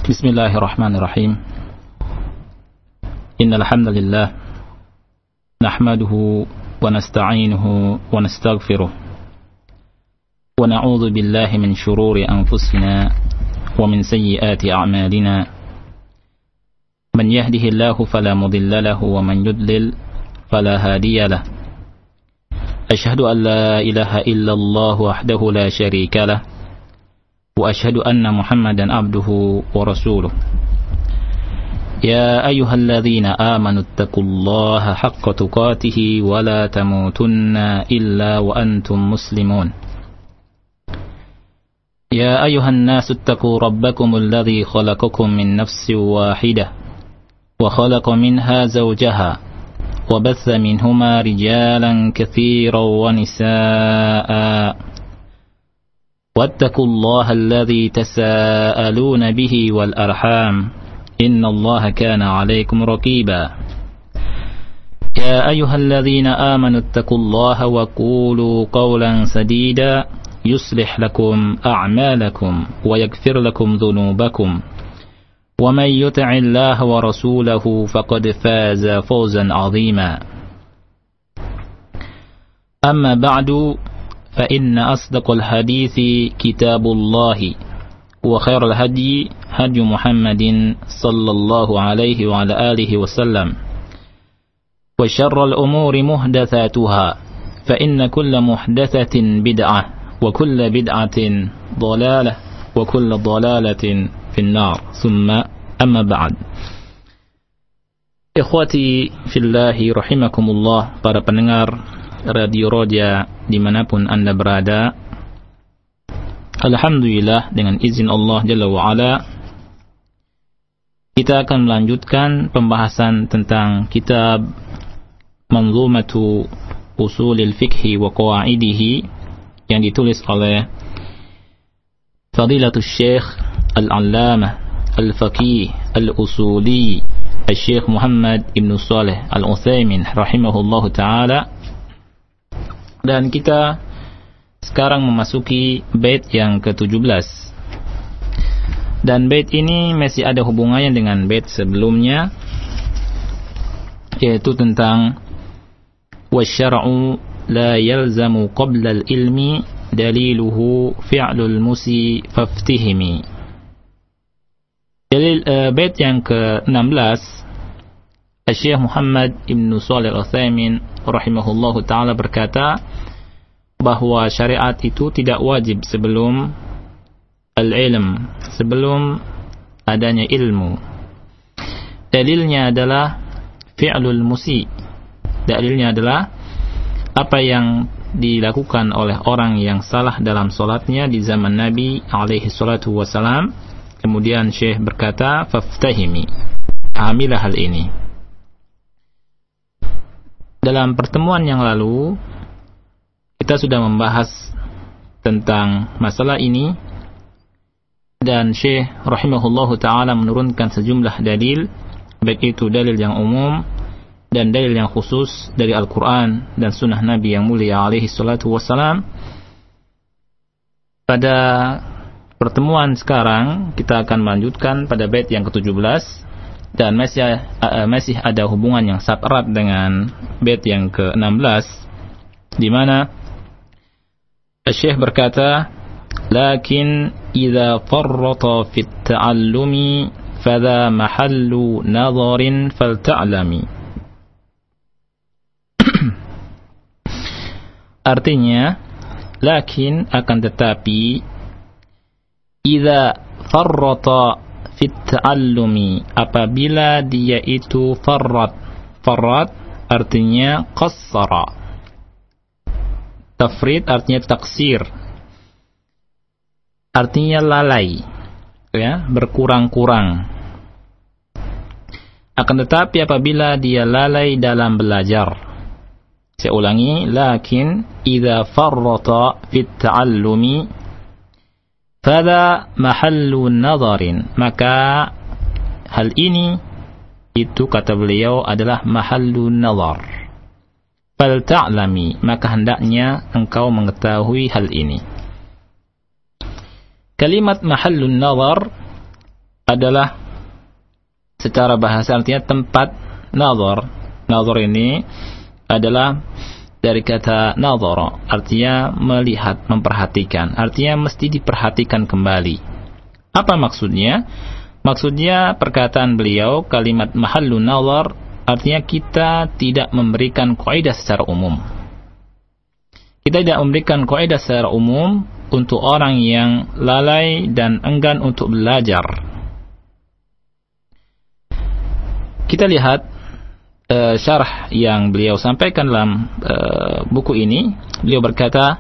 Bismillahirrahmanirrahim. Innal hamdalillah nahmaduhu wa nasta'inuhu wa nastaghfiruh wa na'udzu billahi min shururi anfusina wa min sayyiati a'malina. Man yahdihillahu fala mudilla lahu wa man yudlil fala hadiya lahu. Asyhadu an la ilaha illallah wahdahu la syarika lahu wa asyhadu anna Muhammadan abduhu wa rasuluh. Ya ayyuhalladzina amanu taqullaha haqqa tuqatih wa la tamutunna illa wa antum muslimun. Ya ayyuhan nasu taqu rabbakumul ladzi khalaqakum min nafsin wahidah wa khalaqa minha zawjaha wa batha minhuma rijalan katsiran wa nisaa'a. واتقوا الله الذي تساءلون به والأرحام إن الله كان عليكم رقيبا. يا أيها الذين آمنوا اتقوا الله وقولوا قولا سديدا يصلح لكم أعمالكم ويغفر لكم ذنوبكم ومن يطع الله ورسوله فقد فاز فوزا عظيما. أما بعد فإن أصدق الحديث كتاب الله وخير الهدي هدي محمد صلى الله عليه وعلى آله وسلم وشر الأمور محدثاتها فإن كل محدثة بدعة وكل بدعة ضلالة وكل ضلالة في النار ثم أما بعد. Ikhwati fillahi rahimakumullah, para pendengar Radio Roja dimanapun Anda berada, alhamdulillah dengan izin Allah Jalla wa'ala kita akan melanjutkan pembahasan tentang kitab Manzumatu Usulil Fiqhi wa Qawaidihi yang ditulis oleh Fadilatul Syekh Al-Allamah Al-Faqih Al-Usuli Syekh Muhammad Ibn Saleh Al-Utsaimin rahimahullahu ta'ala. Dan kita sekarang memasuki bait yang ke-17. Dan bait ini masih ada hubungannya dengan bait sebelumnya, yaitu tentang wasyar'u la yalzamu qabla al-ilmi daliluhu fi'lul musi faftihimi. Dalil bait yang ke-16, Syekh Muhammad Ibn Shalih Al-Utsaimin rahimahullahu ta'ala berkata bahwa syariat itu tidak wajib sebelum al-ilm, sebelum adanya ilmu. Dalilnya adalah fi'lul musi. Dalilnya adalah apa yang dilakukan oleh orang yang salah dalam salatnya di zaman Nabi alaihi salatu wasalam. Kemudian Syekh berkata, faftahimi, pahamilah hal ini. Dalam pertemuan yang lalu kita sudah membahas tentang masalah ini, dan Syekh rahimahullahu ta'ala menurunkan sejumlah dalil, baik itu dalil yang umum dan dalil yang khusus dari Al-Quran dan sunnah Nabi yang mulia alaihi salatu wassalam. Pada pertemuan sekarang kita akan melanjutkan pada bait yang ke-17, dan masih ada hubungan yang sangat erat dengan bait yang ke-16, di mana Syekh berkata, lakin idza farrata fit ta'allumi fadha mahallu nadharin falta'lami. Artinya, lakin akan tetapi, idza farrata fit ta'allumi, apabila dia itu farrat artinya qassara, tafrid artinya taksir, artinya lalai, ya, berkurang-kurang. Akan tetapi apabila dia lalai dalam belajar, saya ulangi, lakin idza farrata fit ta'allumi fadha mahallu nadharin, maka hal ini itu kata beliau adalah mahallu nadhar. Fal ta'lami, maka hendaknya engkau mengetahui hal ini. Kalimat mahallun nadhar adalah secara bahasa artinya tempat nazar. Nazar ini adalah dari kata nazara, artinya melihat, memperhatikan, artinya mesti diperhatikan kembali. Apa maksudnya? Maksudnya perkataan beliau, kalimat mahallun nazar, artinya kita tidak memberikan kaidah secara umum. Kita tidak memberikan kaidah secara umum untuk orang yang lalai dan enggan untuk belajar. Kita lihat syarah yang beliau sampaikan dalam buku ini. Beliau berkata,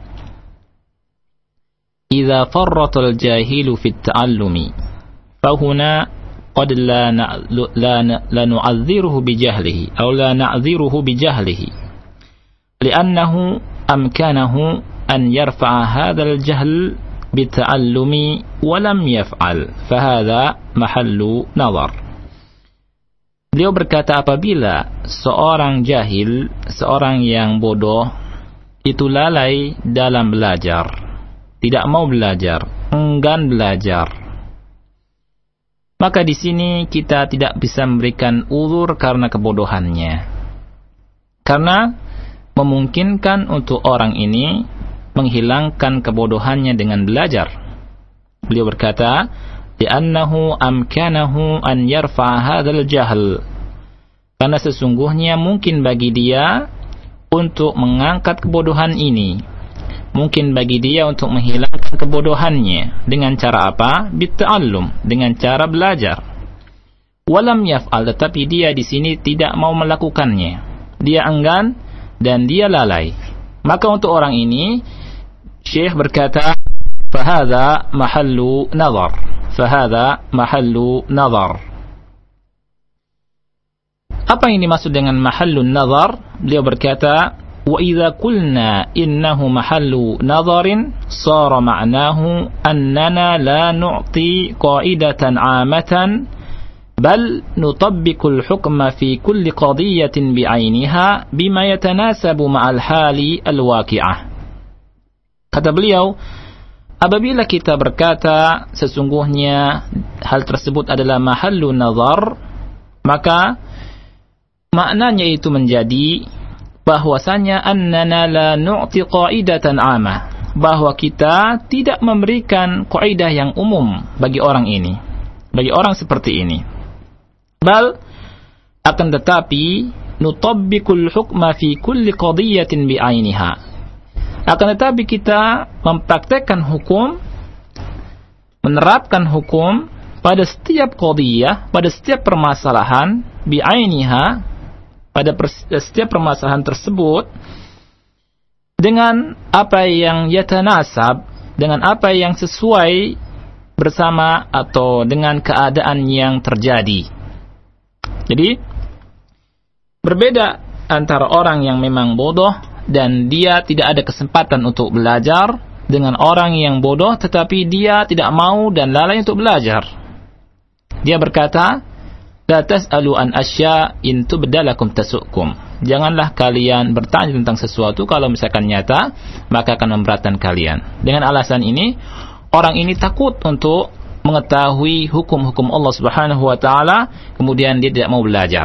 "Idza farratal jahilu fit ta'allumi, fahuna qad la nu'adhdhiruhu bijahlihi aw la na'dhiruhu bijahlihi, li'annahu amkanahu an yarfa'a hadzal jahl bita'allumi wa lam yaf'al, fahadha mahallu nazar." Beliau berkata, apabila seorang jahil, seorang yang bodoh, itu lalai dalam belajar, tidak mau belajar, enggan belajar, maka di sini kita tidak bisa memberikan uzur karena kebodohannya, karena memungkinkan untuk orang ini menghilangkan kebodohannya dengan belajar. Beliau berkata, li'annahu amkanahu an yarfa'a hadzal jahl, karena sesungguhnya mungkin bagi dia untuk mengangkat kebodohan ini, mungkin bagi dia untuk menghilangkan kebodohannya dengan cara apa? Bitta'allum, dengan cara belajar. Walam yaf'al, tetapi dia di sini tidak mau melakukannya, dia enggan dan dia lalai. Maka untuk orang ini Syekh berkata, fahadha mahallu nazar, fahadha mahallu nazar. Apa yang dimaksud dengan mahallun nazar? Beliau berkata, wa idza qulna innahu mahallu nazarin sara ma'nahu annana la nu'ti qa'idatan 'amatan bal nutabbiqu al-hukma fi kulli qadiyatin bi'ainiha bima yatanasabu ma'al hali al-waqi'ah. Kata beliau, apabila kita berkata sesungguhnya hal tersebut adalah mahallu nazar, maka maknanya itu menjadi bahwasanya annana la nu'ti qaidatan 'amah, bahwa kita tidak memberikan kaidah yang umum bagi orang ini, bagi orang seperti ini. Bal, akan tetapi nutabbiqul hukma fi kulli qadiyatin bi'ainiha, akan tetapi kita mempraktekkan hukum, menerapkan hukum pada setiap qadiyah, pada setiap permasalahan, bi'ainiha, pada setiap permasalahan tersebut, dengan apa yang yatanasab, dengan apa yang sesuai bersama atau dengan keadaan yang terjadi. Jadi berbeda antara orang yang memang bodoh dan dia tidak ada kesempatan untuk belajar, dengan orang yang bodoh tetapi dia tidak mau dan lalai untuk belajar. Dia berkata, la tas'alu an asya in tubdalakum tasukum. Janganlah kalian bertanya tentang sesuatu kalau misalkan nyata, maka akan memberatkan kalian. Dengan alasan ini, orang ini takut untuk mengetahui hukum-hukum Allah Subhanahu wa taala, kemudian dia tidak mau belajar.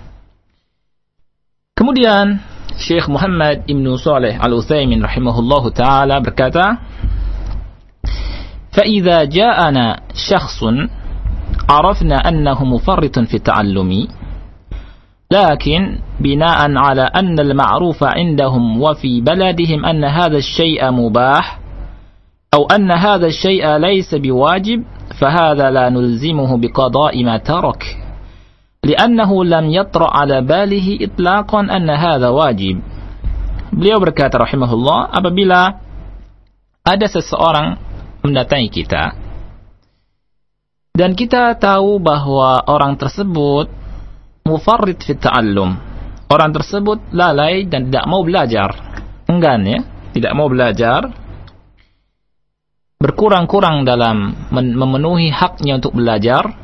Kemudian Syekh Muhammad Ibn Shalih Al-Utsaimin rahimahullahu taala berkata, fa idza ja'ana syakhsun عرفنا أنه مفرط في التعلم لكن بناء على أن المعروف عندهم وفي بلدهم أن هذا الشيء مباح أو أن هذا الشيء ليس بواجب فهذا لا نلزمه بقضاء ما ترك لأنه لم يطرأ على باله إطلاقا أن هذا واجب. Beliau berkata rahimahullah, apabila ada seseorang mendatangi kita dan kita tahu bahwa orang tersebut mufarrid fi ta'allum, orang tersebut lalai dan tidak mau belajar, enggan ya, tidak mau belajar, berkurang-kurang dalam memenuhi haknya untuk belajar.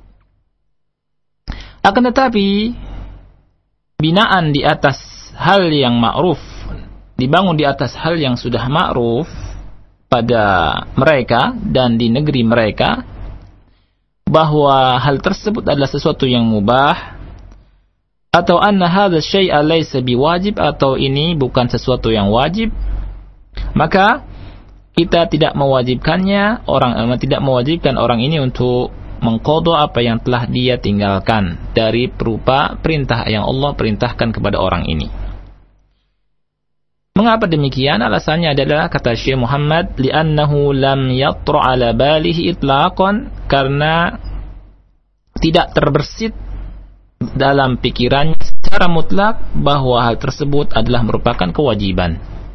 Akan tetapi binaan di atas hal yang ma'ruf, dibangun di atas hal yang sudah ma'ruf pada mereka dan di negeri mereka, bahwa hal tersebut adalah sesuatu yang mubah, atau anna hadza syai'a laysa biwajib, atau ini bukan sesuatu yang wajib, maka kita tidak mewajibkan orang ini untuk mengqadha apa yang telah dia tinggalkan dari berupa perintah yang Allah perintahkan kepada orang ini. Mengapa demikian? Alasannya adalah, kata Syekh Muhammad, li'annahu lam yatra' ala balihi itlaqan, karena tidak terbersit dalam pikirannya secara mutlak bahwa hal tersebut adalah merupakan kewajiban.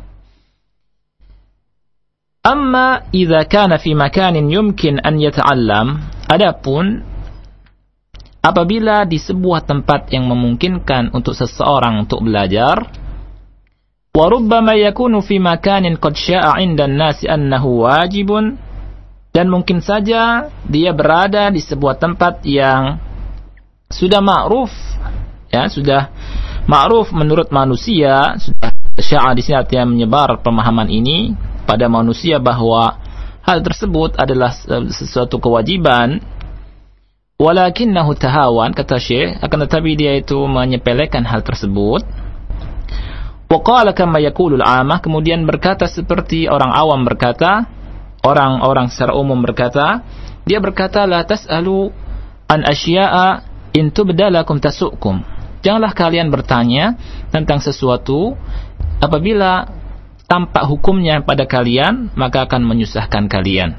Amma idza kana fi makanin yumkin an yata'allam, adapun apabila di sebuah tempat yang memungkinkan untuk seseorang untuk belajar, wa rubbama yakunu fi makanin qad sya'a 'inda an-nasi annahu wajibun, dan mungkin saja dia berada di sebuah tempat yang sudah ma'ruf, ya, sudah ma'ruf menurut manusia, sudah sya'a di sini artinya menyebar pemahaman ini pada manusia bahwa hal tersebut adalah sesuatu kewajiban, walakinnahu tahawan, kata Syekh, akan tetapi dia itu menyepelekan hal tersebut. Wa qala kama yaqulul 'amah, kemudian berkata seperti orang awam berkata, orang-orang secara umum berkata, dia berkata, la tas'alu an asya'a in tubda lakum tasukum, janganlah kalian bertanya tentang sesuatu apabila tampak hukumnya pada kalian, maka akan menyusahkan kalian.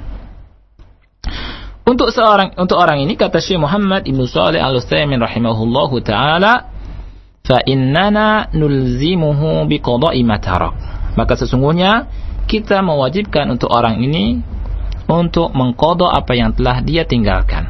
Untuk orang ini, kata Syekh Muhammad Ibn Shalih Al-Utsaimin rahimahullahu taala, fa innana nulzimuhu biqada'i ma tarak, maka sesungguhnya kita mewajibkan untuk orang ini untuk mengqadha apa yang telah dia tinggalkan.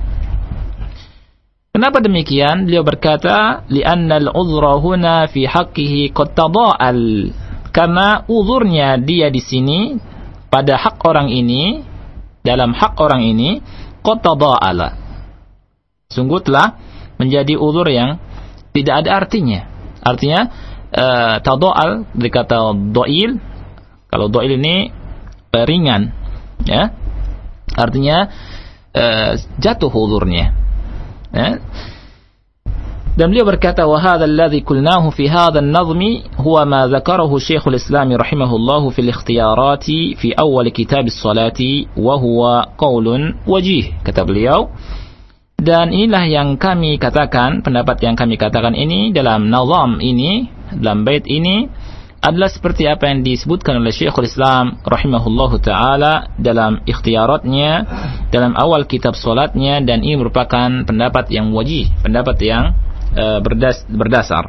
Kenapa demikian? Beliau berkata, li'anna al-'udhra huna fi haqqihi qad tada'al, karena uzurnya dia di sini pada hak orang ini, dalam hak orang ini, qad tada'ala, sungguh telah menjadi uzur yang tidak ada artinya. Artinya tada'al dari kata do'il. Kalau do'il ini ringan, ya, artinya jatuh uzurnya, ya. Dan beliau berkata, wa hadha alladhi qulnahu fi hadha an-nazmi huwa ma dzakarahu Syekhul Islam rahimahullahu fil ikhtiyarati fi awal kitab as-salati wa huwa qaulun wajih, kata beliau. Dan inilah yang kami katakan, pendapat yang kami katakan ini dalam nazam ini, dalam bait ini, adalah seperti apa yang disebutkan oleh Syekhul Islam rahimahullahu taala dalam ikhtiyaratnya, dalam awal kitab salatnya, dan ini merupakan pendapat yang wajih, pendapat yang berdasar.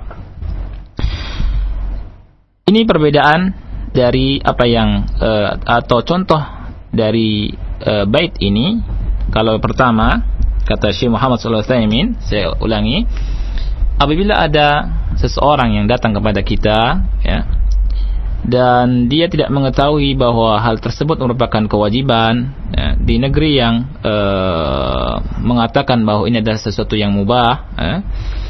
Ini perbedaan dari apa yang atau contoh dari bait ini. Kalau pertama, kata Syekh Muhammad sallallahu alaihi wasallam, saya ulangi, apabila ada seseorang yang datang kepada kita, ya, dan dia tidak mengetahui bahwa hal tersebut merupakan kewajiban, ya, di negeri yang mengatakan bahwa ini adalah sesuatu yang mubah, ya.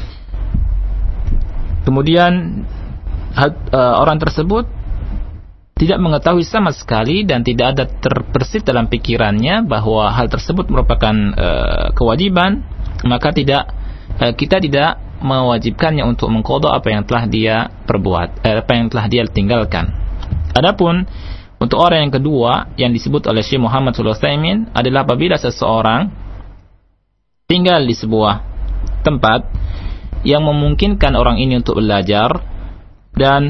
Kemudian orang tersebut tidak mengetahui sama sekali dan tidak ada terbersit dalam pikirannya bahwa hal tersebut merupakan kewajiban, maka kita tidak mewajibkannya untuk mengqadha apa yang telah dia perbuat, apa yang telah dia tinggalkan. Adapun untuk orang yang kedua yang disebut oleh Syekh Muhammad sallallahu alaihi wasallam adalah apabila seseorang tinggal di sebuah tempat yang memungkinkan orang ini untuk belajar, dan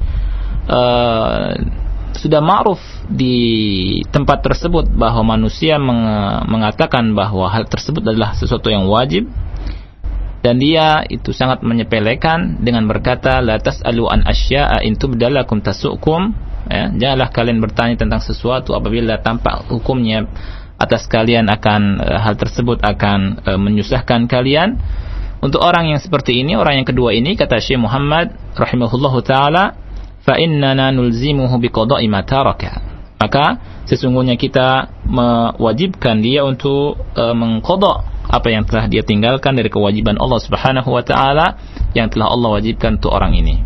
sudah ma'ruf di tempat tersebut bahwa manusia mengatakan bahwa hal tersebut adalah sesuatu yang wajib, dan dia itu sangat menyepelekan dengan berkata, la tas'alu an asya'a in tubda lakum tasukum, ya, janganlah kalian bertanya tentang sesuatu apabila tampak hukumnya atas kalian akan hal tersebut akan menyusahkan kalian. Untuk orang yang seperti ini, orang yang kedua ini, kata Syekh Muhammad rahimahullahu taala, fa innana nulzimuhu biqada'i ma taraka, maka sesungguhnya kita mewajibkan dia untuk mengqadha apa yang telah dia tinggalkan dari kewajiban Allah Subhanahu wa taala yang telah Allah wajibkan untuk orang ini.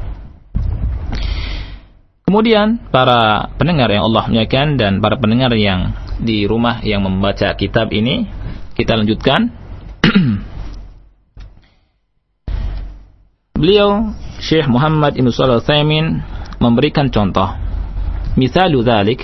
Kemudian para pendengar yang Allah muliakan dan para pendengar yang di rumah yang membaca kitab ini, kita lanjutkan. Beliau Syekh Muhammad Ibn Shalih Al-Utsaimin memberikan contoh. Mithalu dzalik,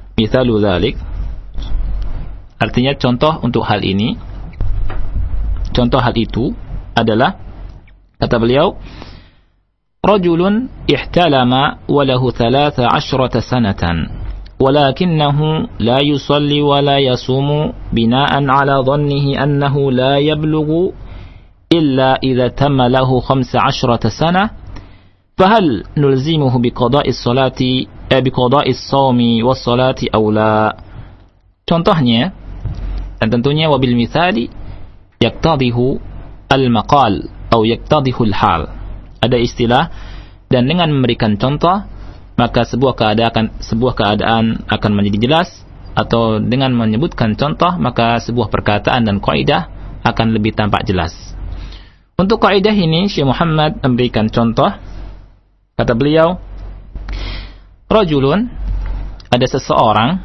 artinya contoh untuk hal ini, contoh hal itu adalah, kata beliau, rajulun ihtalama wa lahu 13 sanatan walakinahu la yusalli wa la yasumu bina'an ala dhannihi annahu la yablughu illa idza tamma lahu 15 sana fahal nulzimuhu biqada'i sholati biqada'i shaumi was salati aw la. Contohnya, dan tentunya wabil mithali yaqtadihu al-maqal atau yaqtadihu al-hal. Ada istilah, dan dengan memberikan contoh maka sebuah keadaan akan menjadi jelas, atau dengan menyebutkan contoh maka sebuah perkataan dan kaidah akan lebih tampak jelas. Untuk kaidah ini Syekh Muhammad memberikan contoh. Kata beliau, rajulun, ada seseorang,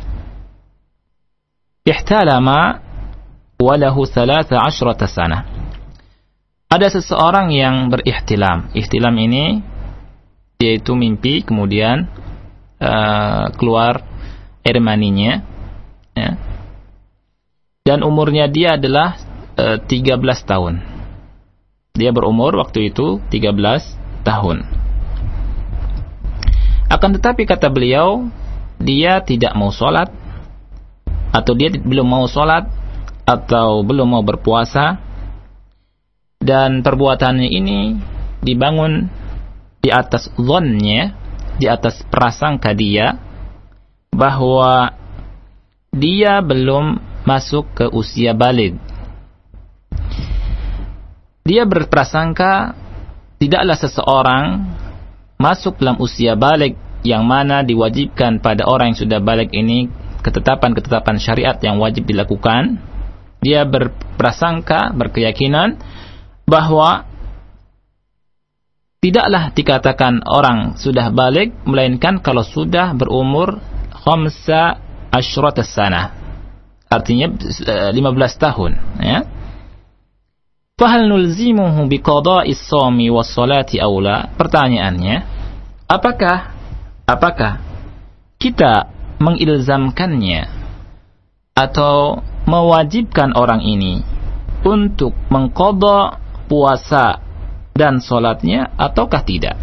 ihtalama wa lahu 13 sana. Ada seseorang yang berihtilam. Ihtilam ini yaitu mimpi kemudian keluar air maninya, ya. Dan umurnya dia adalah 13 tahun. Dia berumur waktu itu 13 tahun. Akan tetapi kata beliau, dia tidak mau sholat, atau dia belum mau sholat, atau belum mau berpuasa, dan perbuatannya ini dibangun di atas dhonnya, di atas prasangka dia, bahwa dia belum masuk ke usia baligh. Dia berprasangka tidaklah seseorang masuk dalam usia baligh, yang mana diwajibkan pada orang yang sudah baligh ini ketetapan-ketetapan syariat yang wajib dilakukan. Dia berprasangka, berkeyakinan bahwa tidaklah dikatakan orang sudah baligh melainkan kalau sudah berumur 15 sana, artinya 15 tahun, ya. Fahal nulzimuhu biqada'is shaumi was salati aw la? Pertanyaannya, apakah kita mengilzamkannya atau mewajibkan orang ini untuk mengqadha puasa dan salatnya ataukah tidak?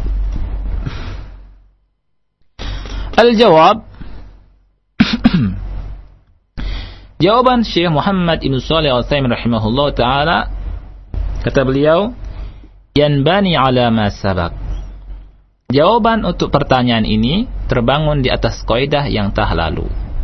Al-jawab, jawaban Syekh Muhammad Ibn Shalih Al-Utsaimin rahimahullah ta'ala, kata beliau, yanbani ala ma sabaq. Jawaban untuk pertanyaan ini terbangun di atas kaidah yang telah lalu.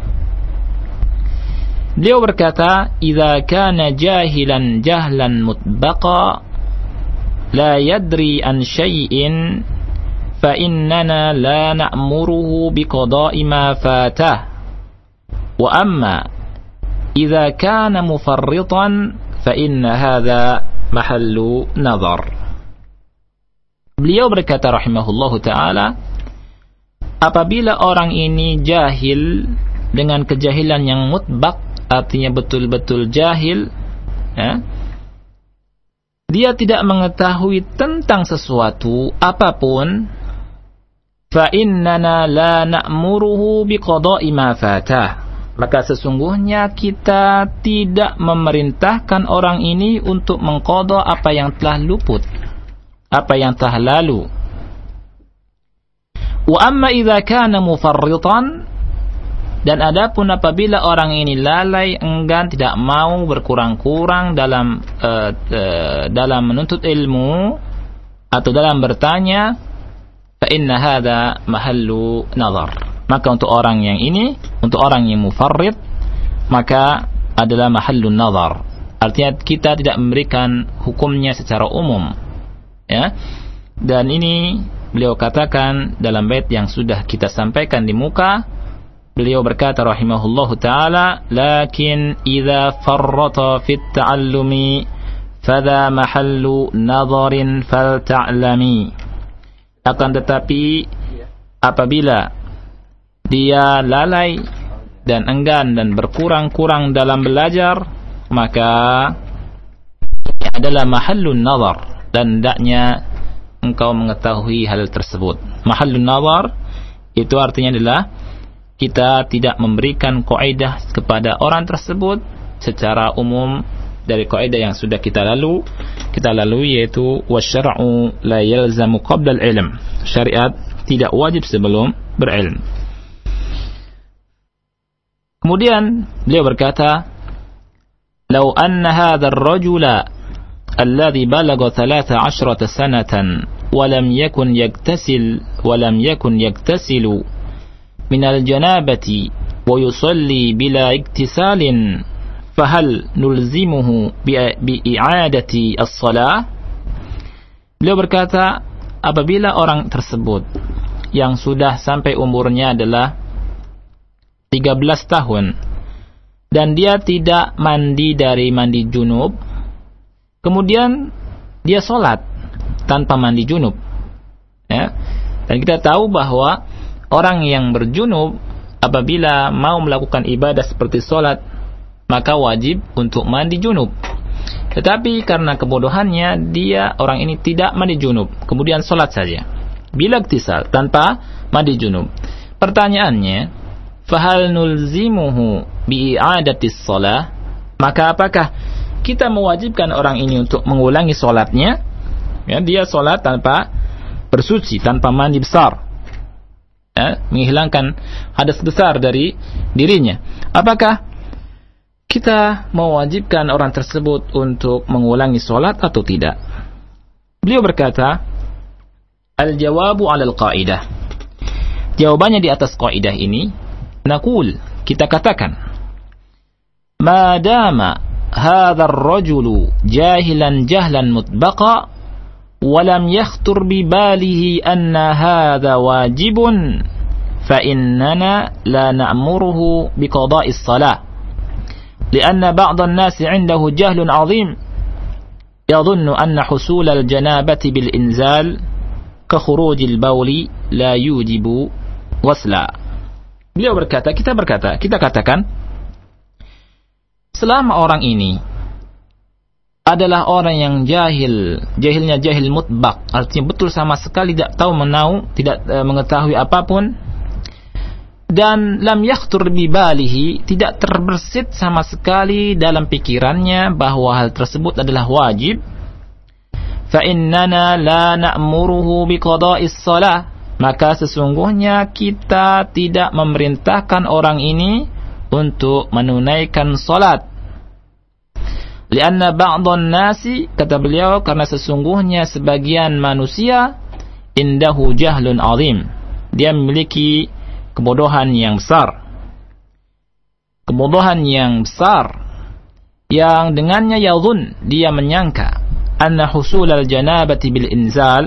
Beliau berkata, idza kana jahilan jahlan mutbaqa la yadri an syai'in fa innana la na'muruhu biqada'i ma fatah. Wa amma idza kana mufarritan fa inna hadza mahallu nazar. Beliau berkata rahimahullahu ta'ala, apabila orang ini jahil dengan kejahilan yang mutbaq, artinya betul-betul jahil, ya, dia tidak mengetahui tentang sesuatu apapun, fa innana la na'muruhu biqada'i ma fatah, maka sesungguhnya kita tidak memerintahkan orang ini untuk mengqadha apa yang telah luput, apa yang telah lalu. Wa amma idza kana mufarritan, dan adapun apabila orang ini lalai, enggan, tidak mau berkurang-kurang dalam menuntut ilmu atau dalam bertanya, fa inna hadza mahallu nazar. Maka untuk orang yang ini, untuk orang yang mufarrid, maka adalah mahallun nazar. Artinya kita tidak memberikan hukumnya secara umum, ya. Dan ini beliau katakan dalam bait yang sudah kita sampaikan di muka. Beliau berkata rahimahullahu ta'ala, lakin idza farrata fit ta'allumi fadha mahallu nazarin falta'lami. Akan tetapi apabila dia lalai dan enggan dan berkurang-kurang dalam belajar, maka ini adalah mahallun nazar, dan hendaknya engkau mengetahui hal tersebut. Mahallun nazar itu artinya adalah kita tidak memberikan kaidah kepada orang tersebut secara umum dari kaidah yang sudah kita lalui, yaitu wasyar'u la yalzamu qabla al-ilm. Syariat tidak wajib sebelum berilm. Kemudian beliau berkata, "Lau anna hadha ar-rajula alladhi balagha 13 sanatan wa lam yakun yaktasilu min al-janabati wa yusalli bila iktisalin fahal nulzimuhu bi'i'adati as-salah." Beliau berkata, apabila orang tersebut yang sudah sampai umurnya adalah 13 tahun dan dia tidak mandi dari mandi junub, kemudian dia sholat tanpa mandi junub, ya. Dan kita tahu bahwa orang yang berjunub apabila mau melakukan ibadah seperti sholat, maka wajib untuk mandi junub. Tetapi karena kebodohannya, orang ini tidak mandi junub, kemudian sholat saja bila iktisal, tanpa mandi junub. Pertanyaannya, fahal nulzimuhu bi'adatis shalah, maka apakah kita mewajibkan orang ini untuk mengulangi sholatnya? Ya, dia sholat tanpa bersuci, tanpa mandi besar, ya, menghilangkan hadas besar dari dirinya. Apakah kita mewajibkan orang tersebut untuk mengulangi sholat atau tidak? Beliau berkata, al-jawabu 'alal qaidah. Jawabannya di atas kaidah ini, naqul, kita katakan, ma dama hadha ar-rajulu jahilan jahlan mutbaqa wa lam yakhtur bi balihi anna hadha wajibun fa innana la na'muruhu bi qada'is salah. لأن بعض الناس عنده جهل عظيم يظن أن حصول الجنابة بالإنزال كخروج البول لا يوجب غسلا. Beliau berkata, kita katakan, selama orang ini adalah orang yang jahilnya jahil mutbaq, artinya betul sama sekali tidak tahu tidak mengetahui apapun, dan lam yakhtur bi balihi, tidak terbersit sama sekali dalam pikirannya bahwa hal tersebut adalah wajib, fa innana la na'muruhu bi qada'is shalah, maka sesungguhnya kita tidak memerintahkan orang ini untuk menunaikan salat. Lianna ba'dhan nasi, kata beliau, karena sesungguhnya sebagian manusia indahu jahlun azim, dia memiliki kebodohan yang besar. Kebodohan yang besar yang dengannya yadhun, dia menyangka, anna husul al-janabati bil inzal,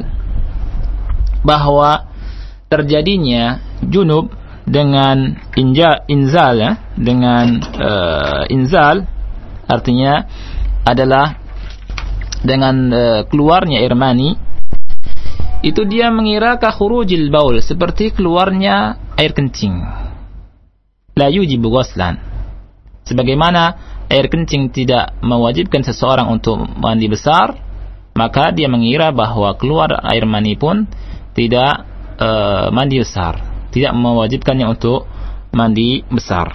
bahwa terjadinya junub dengan inzal, ya, dengan inzal artinya adalah dengan keluarnya air mani, itu dia mengira ka khurujil baul, seperti keluarnya air kencing. La yujibu ghuslan, sebagaimana air kencing tidak mewajibkan seseorang untuk mandi besar, maka dia mengira bahwa keluar air mani pun tidak mandi besar, tidak mewajibkannya untuk mandi besar.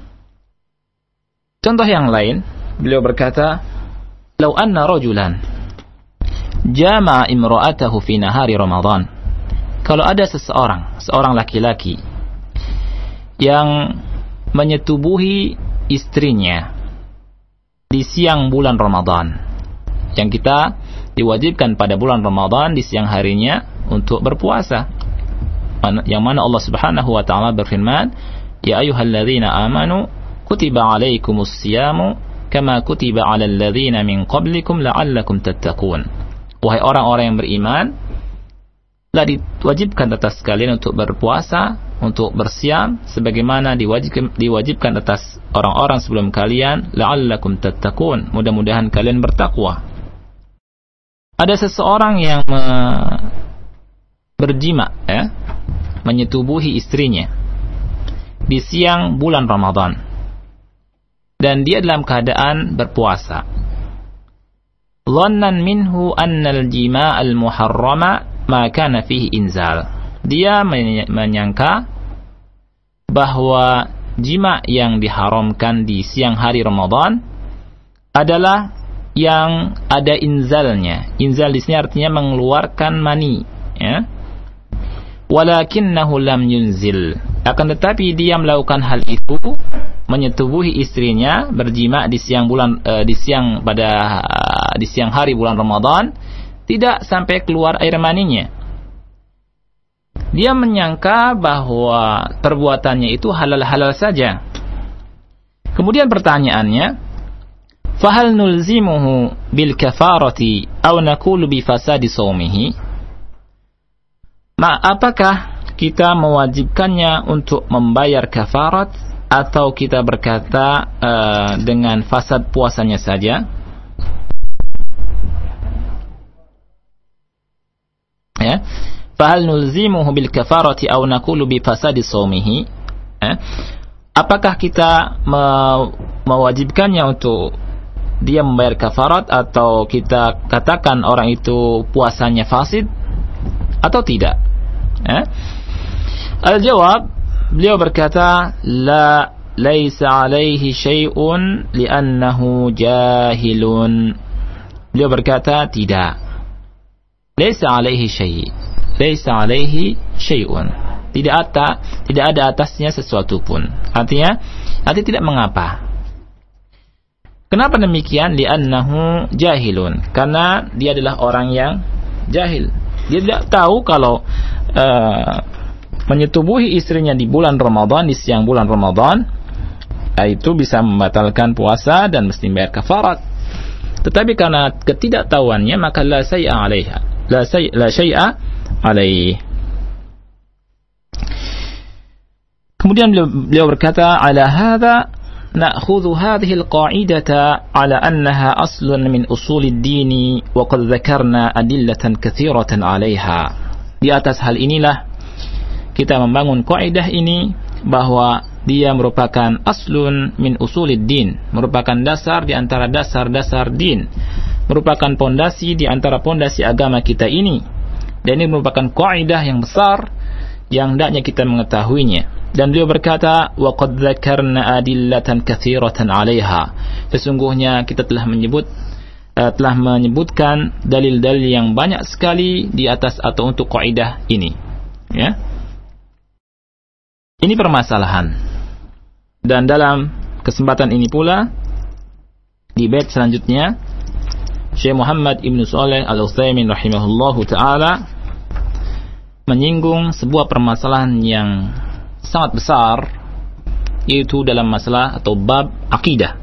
Contoh yang lain, beliau berkata, "Lau anna rajulan jama'a imra'atahu fi nahari Ramadan." Kalau ada seorang laki-laki yang menyetubuhi istrinya di siang bulan Ramadan, yang kita diwajibkan pada bulan Ramadan di siang harinya untuk berpuasa, yang mana Allah Subhanahu wa taala berfirman, "Ya ayyuhalladzina amanu kutiba 'alaikumus siyamu kama kutiba 'alal ladzina min qablikum la'allakum tattaqun." Wahai orang-orang yang beriman, telah diwajibkan atas kalian untuk berpuasa, untuk bersiam, sebagaimana diwajibkan atas orang-orang sebelum kalian, la'allakum tattaqun, mudah-mudahan kalian bertakwa. Ada seseorang yang berjima, ya, menyetubuhi istrinya di siang bulan Ramadan. dan dia dalam keadaan berpuasa. Dhannan minhu annal jima' al-muharrama ma kana fihi inzal. Dia menyangka bahwa jima' yang diharamkan di siang hari Ramadan adalah yang ada inzalnya. Inzal di sini artinya mengeluarkan mani, ya. Walakinnahu lam yunzil. Akan tetapi dia melakukan hal itu, menyetubuhi istrinya, berjima' di siang hari bulan Ramadan, tidak sampai keluar air maninya. Dia menyangka bahwa perbuatannya itu halal-halal saja. Kemudian pertanyaannya, fahal nulzimuhu bil kafarati aw naqulu bi fasadi shaumihi? Apakah kita mewajibkannya untuk membayar kafarat atau kita berkata dengan fasad puasanya saja? Ya. Fahal nulzimuhu bil kafarati aw naqulu bi fasadi shaumihi? Apakah kita mewajibkannya untuk dia membayar kafarat atau kita katakan orang itu puasanya fasid atau tidak? Al-jawab, beliau berkata, la laisa alaihi syai'un li'annahu jahilun. Beliau berkata tidak. Laisa alaihi syai'. Laisa alaihi syai'un. Tidak ada atasnya sesuatu pun. Artinya tidak mengapa. Kenapa demikian? Li'annahu jahilun. Karena dia adalah orang yang jahil. Dia tidak tahu kalau menyetubuhi istrinya di bulan Ramadan, di siang bulan Ramadan, itu bisa membatalkan puasa dan mesti bayar kafarat. Tetapi karena ketidaktahuannya, maka la syai'a alaiha. La syai'a alaih. Kemudian beliau berkata, ala hadha na'khudhu hadhihi al-qa'idata ala annaha aslun min usulid dini wa qad dzakarna adillatan katsiratan 'alaiha. Di atas hal inilah kita membangun kaidah ini bahwa dia merupakan aslun min usulid din, merupakan dasar di antara dasar-dasar din, merupakan pondasi di antara pondasi agama kita ini. Dan ini merupakan kaidah yang besar yang hendaknya kita mengetahuinya. Dan beliau berkata, wa qad dzakarna adillatan katsiratan 'alaiha. Sesungguhnya kita telah menyebutkan dalil-dalil yang banyak sekali di atas atau untuk kaidah ini. Ya. Ini permasalahan. Dan dalam kesempatan ini pula, di bait selanjutnya, Syekh Muhammad Ibn Shalih Al-Utsaimin rahimahullahu ta'ala menyinggung sebuah permasalahan yang sangat besar, yaitu dalam masalah atau bab akidah.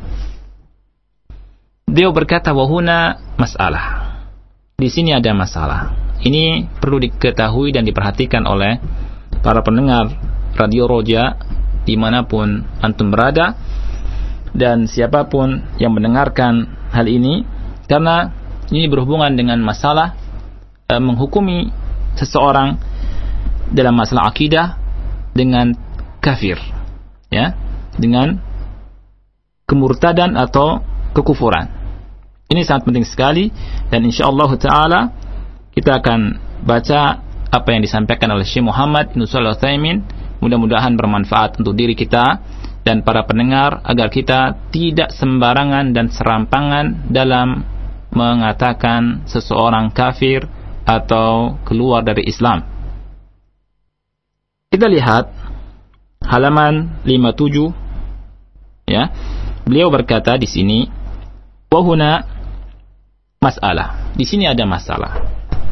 Dia berkata, wahuna masalah. Di sini ada masalah. Ini perlu diketahui dan diperhatikan oleh para pendengar Radio Roja dimanapun antum berada dan siapapun yang mendengarkan hal ini, karena ini berhubungan dengan masalah menghukumi seseorang dalam masalah akidah dengan kafir, ya, dengan kemurtadan atau kekufuran. Ini sangat penting sekali, dan insyaallah taala kita akan baca apa yang disampaikan oleh Syekh Muhammad Ibn Shalih Al-Utsaimin. Mudah-mudahan bermanfaat untuk diri kita dan para pendengar, agar kita tidak sembarangan dan serampangan dalam mengatakan seseorang kafir atau keluar dari Islam. Kita lihat halaman 57, ya. Beliau berkata di sini, wa huna masalah. Di sini ada masalah.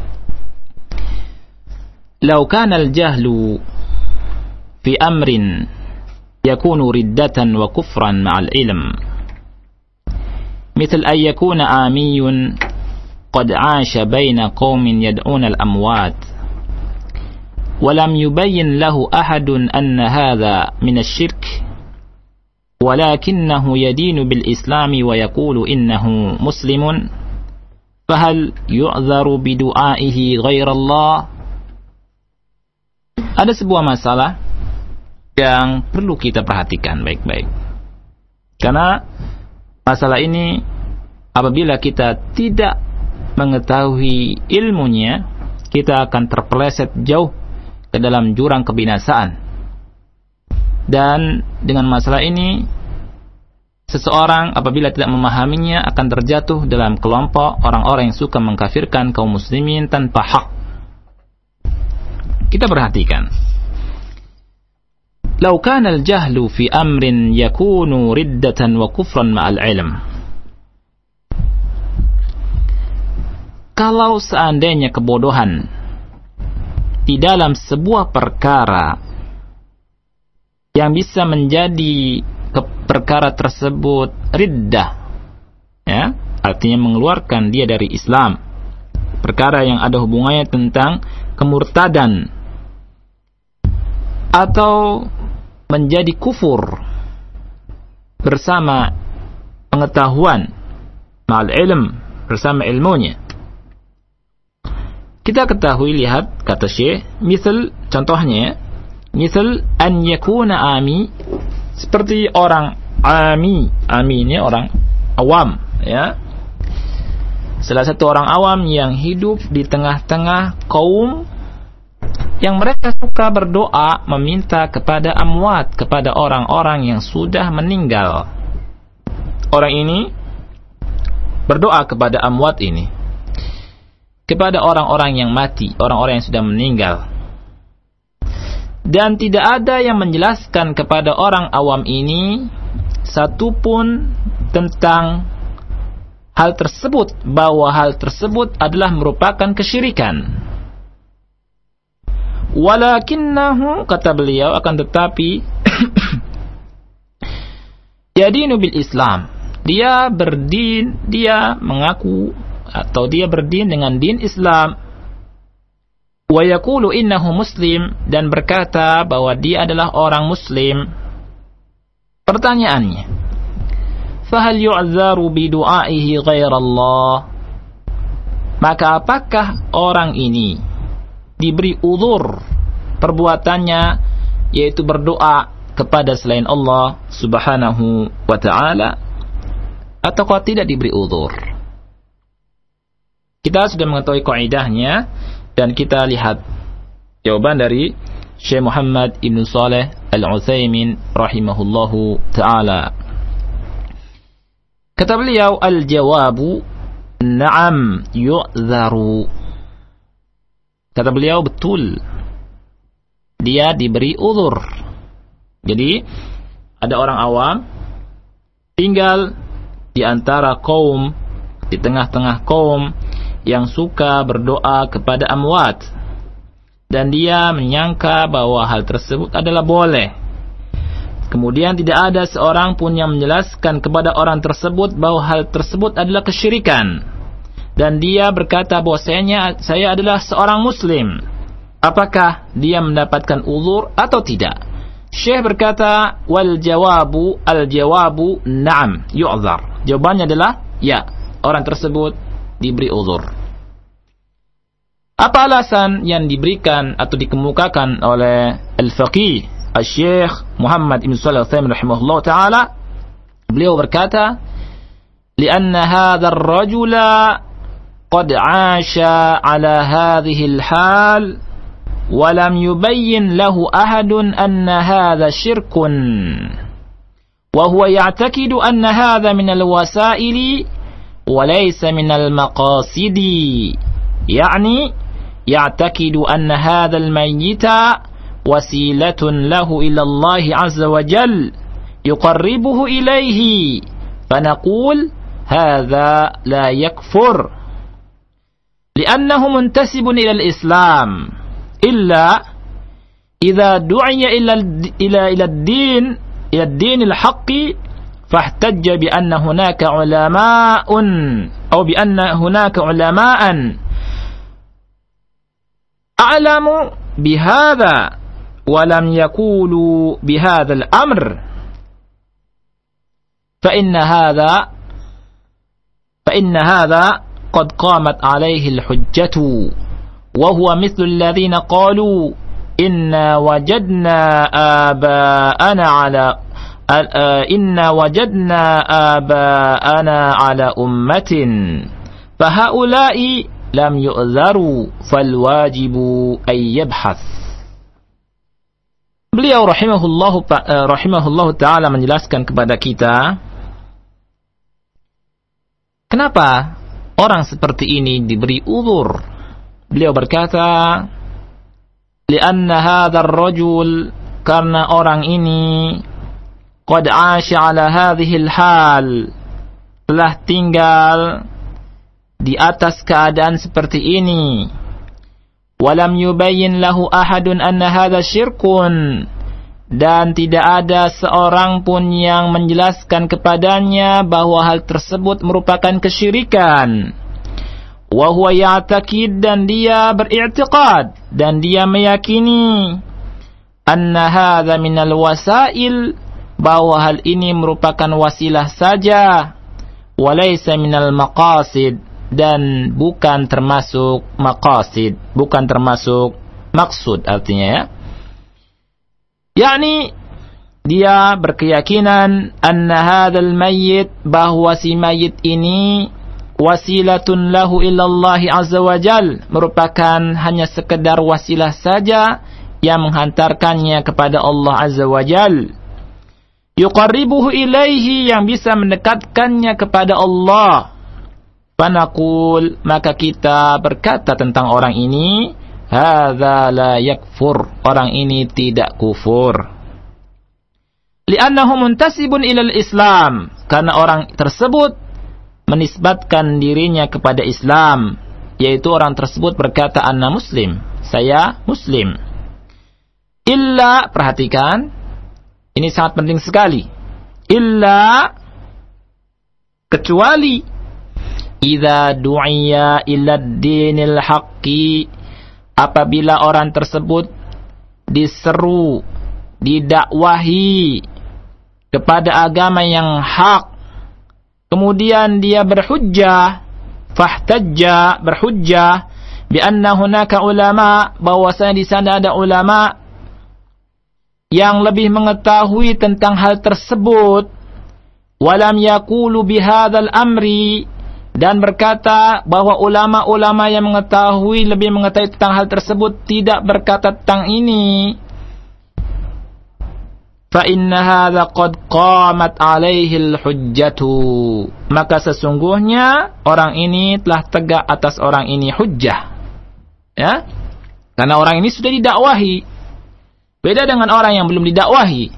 Lau kana al-jahlu fi amrin yakunu riddatan wa kufran ma'al ilm, مثل أن يكون آمي قد عاش بين قوم يدعون الأموات ولم يبين له أحد أن هذا من الشرك ولكنه يدين بالإسلام ويقول إنه مسلم فهل يعذر بدعائه غير الله؟ Ada sebuah masalah yang perlu kita perhatikan baik-baik. Karena masalah ini apabila kita tidak mengetahui ilmunya, kita akan terpeleset jauh ke dalam jurang kebinasaan. Dan dengan masalah ini, seseorang apabila tidak memahaminya akan terjatuh dalam kelompok orang-orang yang suka mengkafirkan kaum muslimin tanpa hak. Kita perhatikan. Lau kana al-jahlu fi amrin yakunu riddatan wa kufran ma'al ilm. Kalau seandainya kebodohan di dalam sebuah perkara yang bisa menjadi perkara tersebut riddah, ya, artinya mengeluarkan dia dari Islam, perkara yang ada hubungannya tentang kemurtadan, atau menjadi kufur bersama pengetahuan, ma'al ilm, bersama ilmunya. Kita ketahui, lihat kata Syekh, misal contohnya, misal an yakuna ami, seperti orang ami ini orang awam, ya, salah satu orang awam yang hidup di tengah-tengah kaum yang mereka suka berdoa meminta kepada amwat, kepada orang-orang yang sudah meninggal. Orang ini berdoa kepada amwat ini, kepada orang-orang yang mati, orang-orang yang sudah meninggal. Dan tidak ada yang menjelaskan kepada orang awam ini satupun tentang hal tersebut, bahwa hal tersebut adalah merupakan kesyirikan. Walakinnahu, kata beliau, akan tetapi yadinu bil Islam, dia berdin, dia mengaku atau dia berdin dengan din Islam, wa yaqulu innahu muslim, dan berkata bahwa dia adalah orang muslim. Pertanyaannya, fahal yu'dzaru bi du'aihi ghairallah, maka apakah orang ini diberi uzur perbuatannya, yaitu berdoa kepada selain Allah subhanahu wa ta'ala, ataukah tidak diberi uzur? Kita sudah mengetahui kaidahnya, dan kita lihat jawaban dari Syekh Muhammad Ibn Saleh Al-Utsaimin rahimahullahu ta'ala. Kata beliau, al-jawabu na'am yu'dzaru. Kata beliau, betul, dia diberi uzur. Jadi ada orang awam tinggal di antara kaum, di tengah-tengah kaum yang suka berdoa kepada amwat, dan dia menyangka bahwa hal tersebut adalah boleh. Kemudian tidak ada seorang pun yang menjelaskan kepada orang tersebut bahwa hal tersebut adalah kesyirikan, dan dia berkata bahwasanya saya adalah seorang muslim. Apakah dia mendapatkan uzur atau tidak? Syekh berkata, wal jawabu, al jawabu na'am yu'dzar. Jawabannya adalah ya, orang tersebut diberi uzur. Apa alasan yang diberikan atau dikemukakan oleh al-faqih al-Syekh Muhammad Ibn Shalih Al-Utsaimin rahimahullah ta'ala? Beliau berkata, lianna hadha ar-rajula qad 'asha 'ala hadhihi al-hal wa lam yubayyin lahu ahadun anna hadha syirkun wa huwa ya'taqidu anna hadha min al-wasaili wa laysa min al-maqasidi, yani ya'taqidu anna hadha al-mayyita wasilatun lahu ila Allah 'azza wa jalla yuqarribuhu ilayhi, fanaqul hadha la yakfur لأنه منتسب إلى الإسلام إلا إذا دعي إلى الدين الحق فاحتج بأن هناك علماء أو بأن هناك علماء أعلم بهذا ولم يقولوا بهذا الأمر فإن هذا قد قامت عليه الحجة وهو مثل الذين قالوا إنا وجدنا آباءنا inna wajadna aba'ana ala ummatin fahaula'i lam yu'dharu falwajibu ay yabhath. Beliau rahimahullahu ta'ala menjelaskan kepada kita kenapa orang seperti ini diberi uzur. Beliau berkata, li'anna hadzal rajul, karena orang ini qad 'asha 'ala hadhil hal, telah tinggal di atas keadaan seperti ini. Walam yubayyin lahu ahadun anna hadha syirkun, dan tidak ada seorang pun yang menjelaskan kepadanya bahwa hal tersebut merupakan kesyirikan. Wa huwa ya'taqid, dan dia beriktikad dan dia meyakini anna hadha minal wasail, bahwa hal ini merupakan wasilah saja, walaysa minal maqasid, dan bukan termasuk maqasid, bukan termasuk maksud artinya ya. Yakni dia berkeyakinan anna hadzal mayyit, bahwa si mayit ini wasilatun lahu illallah azza wajal, merupakan hanya sekedar wasilah saja yang menghantarkannya kepada Allah azza wajal. Yuqarribuhu ilaihi, yang bisa mendekatkannya kepada Allah. Fanaqul, maka kita berkata tentang orang ini, hadza la yakfur, orang ini tidak kufur. Li'annahu muntasibun ilal Islam, karena orang tersebut menisbatkan dirinya kepada Islam, yaitu orang tersebut berkata anna muslim, saya muslim. Illa, perhatikan, ini sangat penting sekali. Illa, kecuali idza du'iya ila dinil haqqi, apabila orang tersebut diseru, didakwahi kepada agama yang hak, kemudian dia berhujjah, fahtajja, berhujjah bi anna hunaka ulama, bahwasanya di sana ada ulama yang lebih mengetahui tentang hal tersebut, walam yaqulu bihadzal amri, dan berkata bahwa ulama-ulama yang mengetahui, lebih mengetahui tentang hal tersebut, tidak berkata tentang ini, fa inna hadza qad qamat alaihi al-hujjatu, maka sesungguhnya orang ini telah tegak atas orang ini hujjah, ya, karena orang ini sudah didakwahi. Beda dengan orang yang belum didakwahi.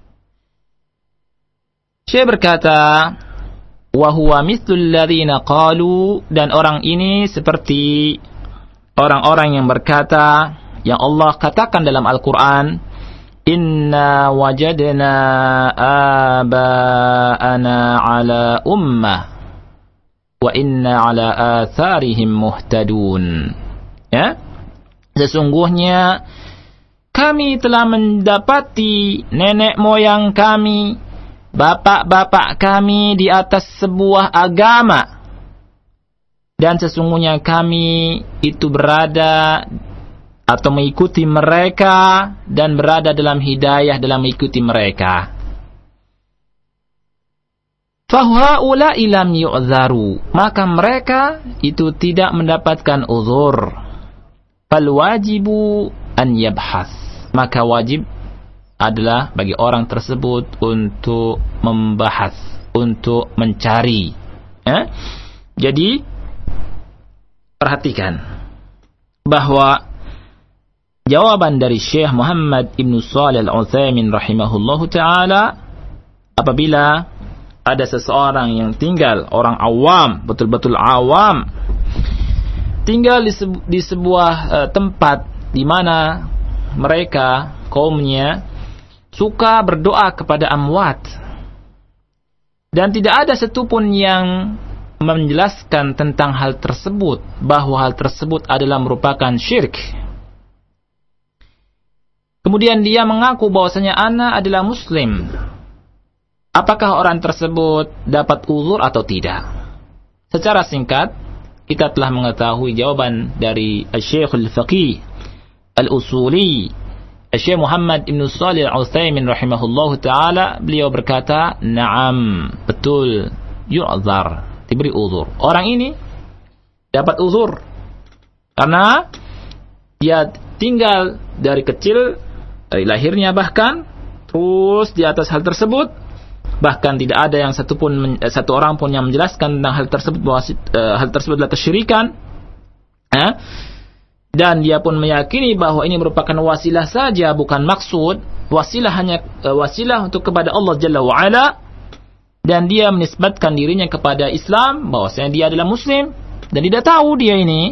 Syekh berkata, wa huwa mithlul ladzina qalu, dan orang ini seperti orang-orang yang berkata, yang Allah katakan dalam Al-Qur'an, inna wajadna aba'ana ala ummah wa inna ala atharihim muhtadun. Ya, sesungguhnya kami telah mendapati nenek moyang kami, bapak-bapak kami di atas sebuah agama, dan sesungguhnya kami itu berada atau mengikuti mereka dan berada dalam hidayah dalam mengikuti mereka. Fahaula'i lam yu'dharu, maka mereka itu tidak mendapatkan uzur. Fal wajibu an yabhas, maka wajib adalah bagi orang tersebut untuk membahas, untuk mencari. Ya? Jadi perhatikan bahwa jawaban dari Syekh Muhammad Ibn Shalih Al-Utsaimin rahimahullahu ta'ala, apabila ada seseorang yang tinggal, orang awam, betul-betul awam, tinggal di sebuah tempat di mana mereka, kaumnya, suka berdoa kepada amwat, dan tidak ada satupun yang menjelaskan tentang hal tersebut, bahwa hal tersebut adalah merupakan syirik. Kemudian dia mengaku bahwasanya ana adalah muslim. Apakah orang tersebut dapat uzur atau tidak? Secara singkat, kita telah mengetahui jawaban dari Syekh Al-Faqih Al-Usuli Syekh Muhammad Ibn Shalih Al-Utsaimin rahimahullahu taala, beliau berkata, "Na'am, betul, yu'dzar, diberi uzur." Orang ini dapat uzur karena dia tinggal dari kecil, dari lahirnya bahkan, terus di atas hal tersebut, bahkan tidak ada yang satu orang pun yang menjelaskan tentang hal tersebut, bahwa hal tersebut adalah kesyirikan. Dan dia pun meyakini bahwa ini merupakan wasilah saja, bukan maksud. Wasilah hanya wasilah untuk kepada Allah Jalla wa'ala. Dan dia menisbatkan dirinya kepada Islam, bahwasanya dia adalah Muslim, dan tidak tahu dia ini.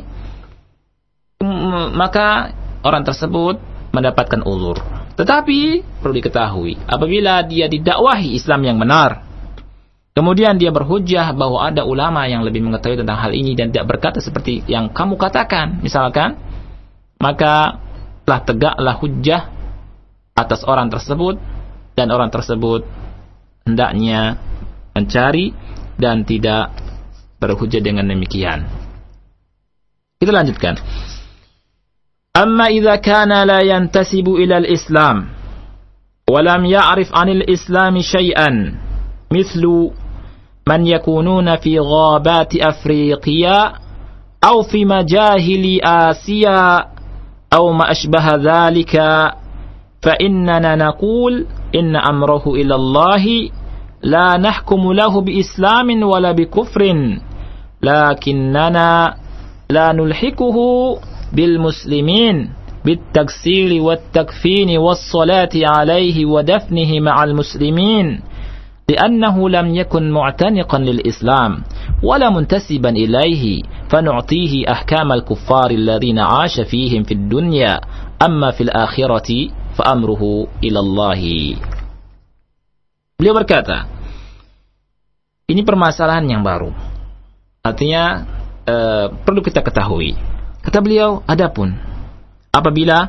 Maka orang tersebut mendapatkan uzur. Tetapi perlu diketahui, apabila dia didakwahi Islam yang benar, kemudian dia berhujjah bahwa ada ulama yang lebih mengetahui tentang hal ini dan tidak berkata seperti yang kamu katakan, misalkan, maka telah tegaklah hujjah atas orang tersebut, dan orang tersebut hendaknya mencari dan tidak berhujjah dengan demikian. Kita lanjutkan. Amma idza kana la yantasibu ila al-Islam wa lam ya'rif 'anil Islam syai'an, mithlu man yakununa fi ghabati Afriqiya aw fi majahili Asia أو ما أشبه ذلك فإننا نقول إن أمره إلى الله لا نحكم له بإسلام ولا بكفر لكننا لا نلحقه بالمسلمين بالتكسير والتكفين والصلاة عليه ودفنه مع المسلمين لأنه لم يكن معتنقا للإسلام ولا منتسبا إليه فنعطيه أحكام الكفار الذين عاش فيهم في الدنيا أما في الآخرة فأمره إلى الله. Beliau berkata, ini permasalahan yang baru, artinya perlu kita ketahui. Kata beliau, adapun apabila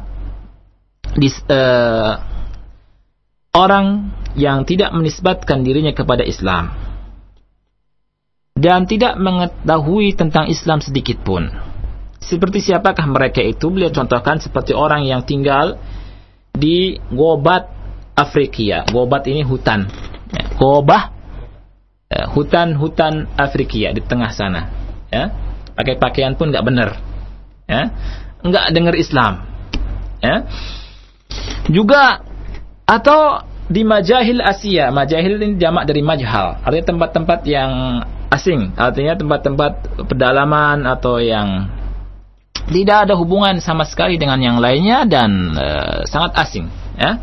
orang yang tidak menisbatkan dirinya kepada Islam dan tidak mengetahui tentang Islam sedikit pun, seperti siapakah mereka itu? Beliau contohkan seperti orang yang tinggal di Gobat Afrikia. Gobat ini hutan, Gobah, hutan Afrikia di tengah sana, ya. Pakai pakaian pun nggak benar, ya, nggak dengar Islam, ya. Juga atau di majahil Asia. Majahil ini jamak dari majhal, artinya tempat-tempat yang asing, artinya tempat-tempat pedalaman atau yang tidak ada hubungan sama sekali dengan yang lainnya dan sangat asing, ya.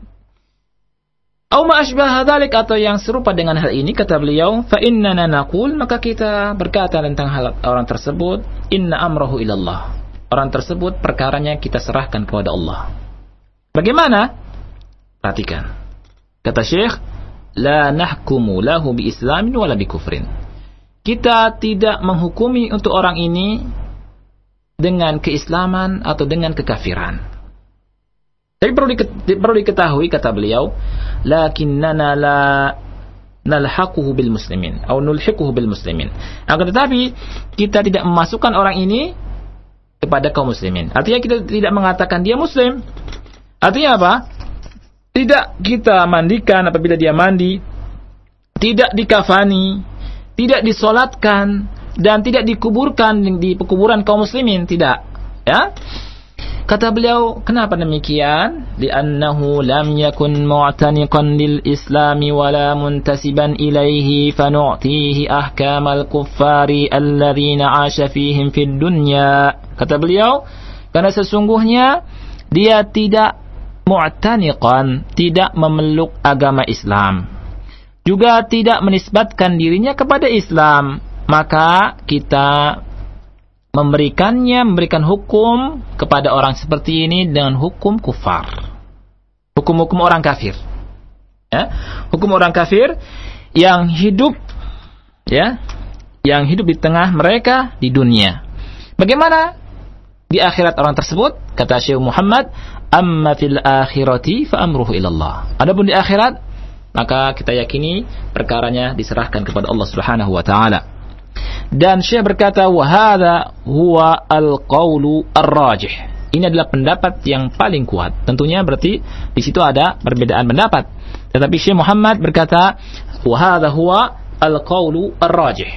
Au ma asbah dzalik, atau yang serupa dengan hal ini, kata beliau, fa innana naqul, maka kita berkata tentang hal orang tersebut, inna amrahu ilallah, orang tersebut perkaranya kita serahkan kepada Allah. Bagaimana? Perhatikan. Kata Syekh, la nahkumu lahu bi islamin wala bi kufrin. Kita tidak menghukumi untuk orang ini dengan keislaman atau dengan kekafiran. Tapi perlu diketahui, kata beliau, lakinnana la nalhaquhu bil muslimin atau nulhiquhu bil muslimin. Akan tetapi kita tidak memasukkan orang ini kepada kaum muslimin. Artinya kita tidak mengatakan dia muslim. Artinya apa? Tidak kita mandikan apabila dia mandi, tidak dikafani, tidak disolatkan, dan tidak dikuburkan di pekuburan kaum muslimin, tidak, ya. Kata beliau, kenapa demikian? Li'annahu lam yakun mu'taniqan lil islami wala muntasiban ilaihi fanu'tihi ahkamal kuffari alladhina 'asha fihim fid dunya. Kata beliau, karena sesungguhnya dia tidak mu'taniqan, tidak memeluk agama Islam, juga tidak menisbatkan dirinya kepada Islam, maka kita memberikan hukum kepada orang seperti ini dengan hukum kufar, hukum-hukum orang kafir, ya, hukum orang kafir yang hidup, ya, yang hidup di tengah mereka di dunia. Bagaimana di akhirat orang tersebut? Kata Syekh Muhammad, amma fil akhirati fa amruhu ilallah. Adapun di akhirat, maka kita yakini perkaranya diserahkan kepada Allah Subhanahu wa taala. Dan Syekh berkata, wa hadza huwa al-qaulu ar-rajih. Ini adalah pendapat yang paling kuat. Tentunya berarti di situ ada perbedaan pendapat. Tetapi Syekh Muhammad berkata, wa hadza huwa al-qaulu ar-rajih.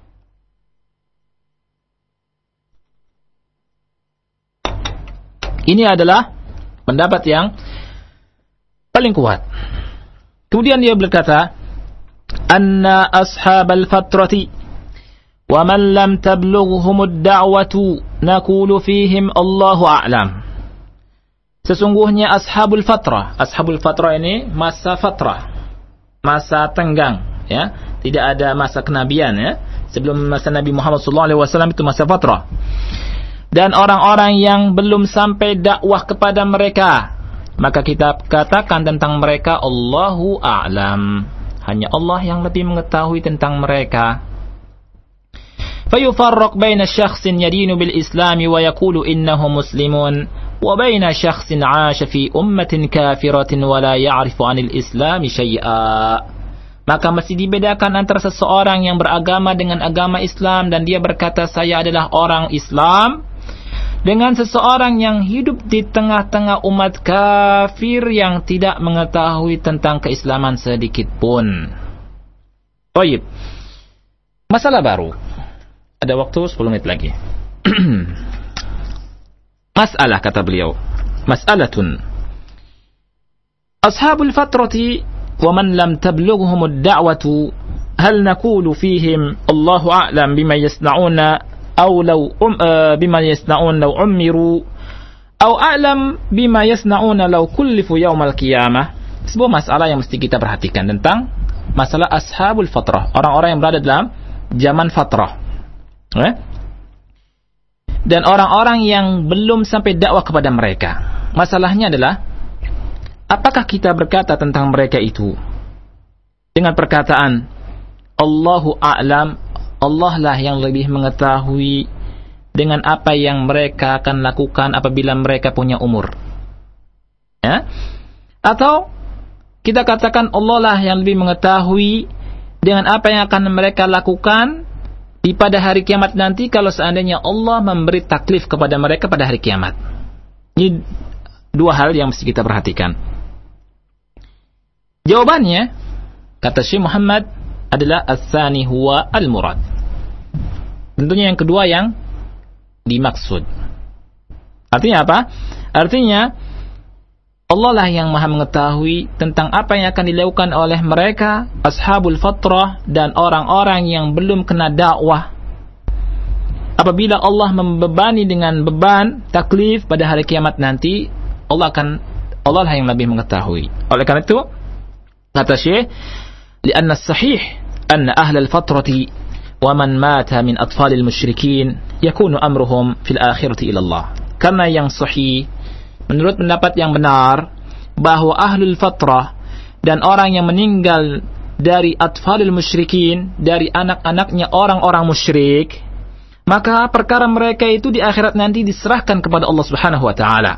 Ini adalah pendapat yang paling kuat. Kemudian dia berkata, anna ashabal fatrati wa man lam tablughhum ad-da'watu naqulu fihim Allahu a'lam. Sesungguhnya ashabul fatrah ini masa fatrah, masa tenggang, ya, tidak ada masa kenabian, ya. Sebelum masa Nabi Muhammad SAW itu masa fatrah. Dan orang-orang yang belum sampai dakwah kepada mereka, maka kita katakan tentang mereka Allahu a'lam. Hanya Allah yang lebih mengetahui tentang mereka. Fayufarraq baina syakhsin yadinu bil islami wa yaqulu innahu muslimun wa baina syakhsin 'asha fi ummatin kafiratin wa la ya'rifu 'anil islami syai'a. Maka mesti dibedakan antara seseorang yang beragama dengan agama Islam dan dia berkata saya adalah orang Islam, dengan seseorang yang hidup di tengah-tengah umat kafir yang tidak mengetahui tentang keislaman sedikit pun. Baik. Masalah baru. Ada waktu 10 menit lagi. Masalah, kata beliau. Mas'alatun. Ashabul fatrati wa man lam tablughhum ad-da'watu hal naqulu fihim Allahu a'lam bima yasna'una أو لو بما يصنعون لو عمروا أو أعلم بما يصنعون لو كلفوا يوم القيامة. Sebuah masalah yang mesti kita perhatikan tentang masalah ashabul fatrah, orang-orang yang berada dalam zaman fatrah, dan orang-orang yang belum sampai dakwah kepada mereka. Masalahnya adalah apakah kita berkata tentang mereka itu dengan perkataan Allahu a'lam, Allah lah yang lebih mengetahui dengan apa yang mereka akan lakukan apabila mereka punya umur, ya? Atau kita katakan Allah lah yang lebih mengetahui dengan apa yang akan mereka lakukan di pada hari kiamat nanti kalau seandainya Allah memberi taklif kepada mereka pada hari kiamat. Ini dua hal yang mesti kita perhatikan. Jawabannya, kata Syekh Muhammad, adalah as-tsani huwa al-murad. Tentunya yang kedua yang dimaksud. Artinya apa? Artinya Allah lah yang maha mengetahui tentang apa yang akan dilakukan oleh mereka ashabul fatrah dan orang-orang yang belum kena dakwah. Apabila Allah membebani dengan beban taklif pada hari kiamat nanti, Allah lah yang lebih mengetahui. Oleh karena itu, kata Syekh, li'anna as-sahih anna ahlal fatrati wa man mata min atfalil musyrikin yakunu amruhum fil akhirati ila Allah. Karena yang sahih, menurut pendapat yang benar, bahwa ahlul fatrah dan orang yang meninggal dari atfalil musyrikin, dari anak-anaknya orang-orang musyrik, maka perkara mereka itu di akhirat nanti diserahkan kepada Allah Subhanahu wa taala.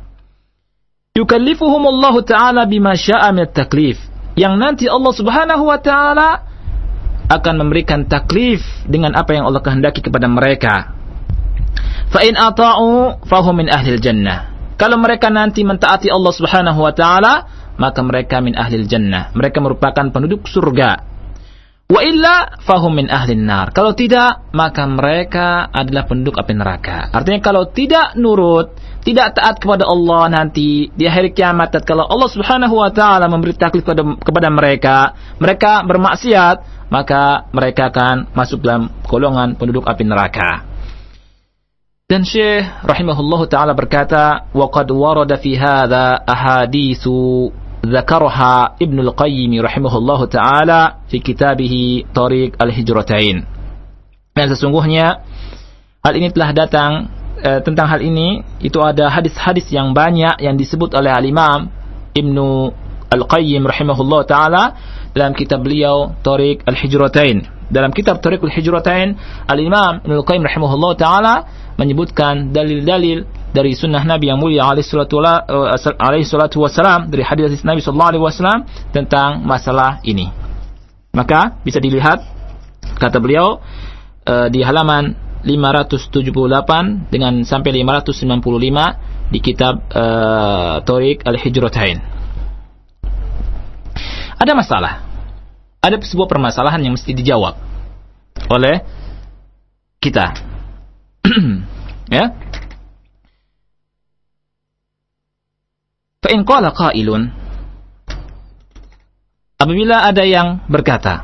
Yukallifuhumullahu taala bima syaa min at-taklif. Yang nanti Allah Subhanahu wa taala akan memberikan taklif dengan apa yang Allah kehendaki kepada mereka. Fa in ata'u fahum min ahlil jannah. Kalau mereka nanti mentaati Allah Subhanahu wa taala, maka mereka min ahlil jannah. Mereka merupakan penduduk surga. Wa illa fahum min ahlin nar. Kalau tidak, maka mereka adalah penduduk api neraka. Artinya kalau tidak nurut, tidak taat kepada Allah nanti di hari kiamat, kalau Allah Subhanahu wa taala memberi taklif kepada mereka, mereka bermaksiat, maka mereka akan masuk dalam golongan penduduk api neraka. Dan Syekh rahimahullahu taala berkata, wa qad warada fi hadza ahaditsu dzakaraha Ibnu Al-Qayyim rahimahullahu taala fi kitabih Thariq Al-Hijratain. Dan sesungguhnya hal ini telah datang tentang hal ini, itu ada hadis-hadis yang banyak yang disebut oleh Al-Imam Ibnu Al-Qayyim rahimahullah ta'ala dalam kitab beliau Thariq Al-Hijratain. Dalam kitab Thariq Al-Hijratain, Al-Imam Ibnu Al-Qayyim rahimahullah ta'ala menyebutkan dalil-dalil dari sunnah Nabi yang mulia alaihi salatu wassalam, dari hadis Nabi sallallahu alaihi wasallam tentang masalah ini. Maka bisa dilihat, kata beliau, di halaman 578 dengan sampai 595 di kitab Thariq Al-Hijratain. Ada masalah. Ada sebuah permasalahan yang mesti dijawab oleh kita. Ya. Fa in qala qailun, apabila ada yang berkata,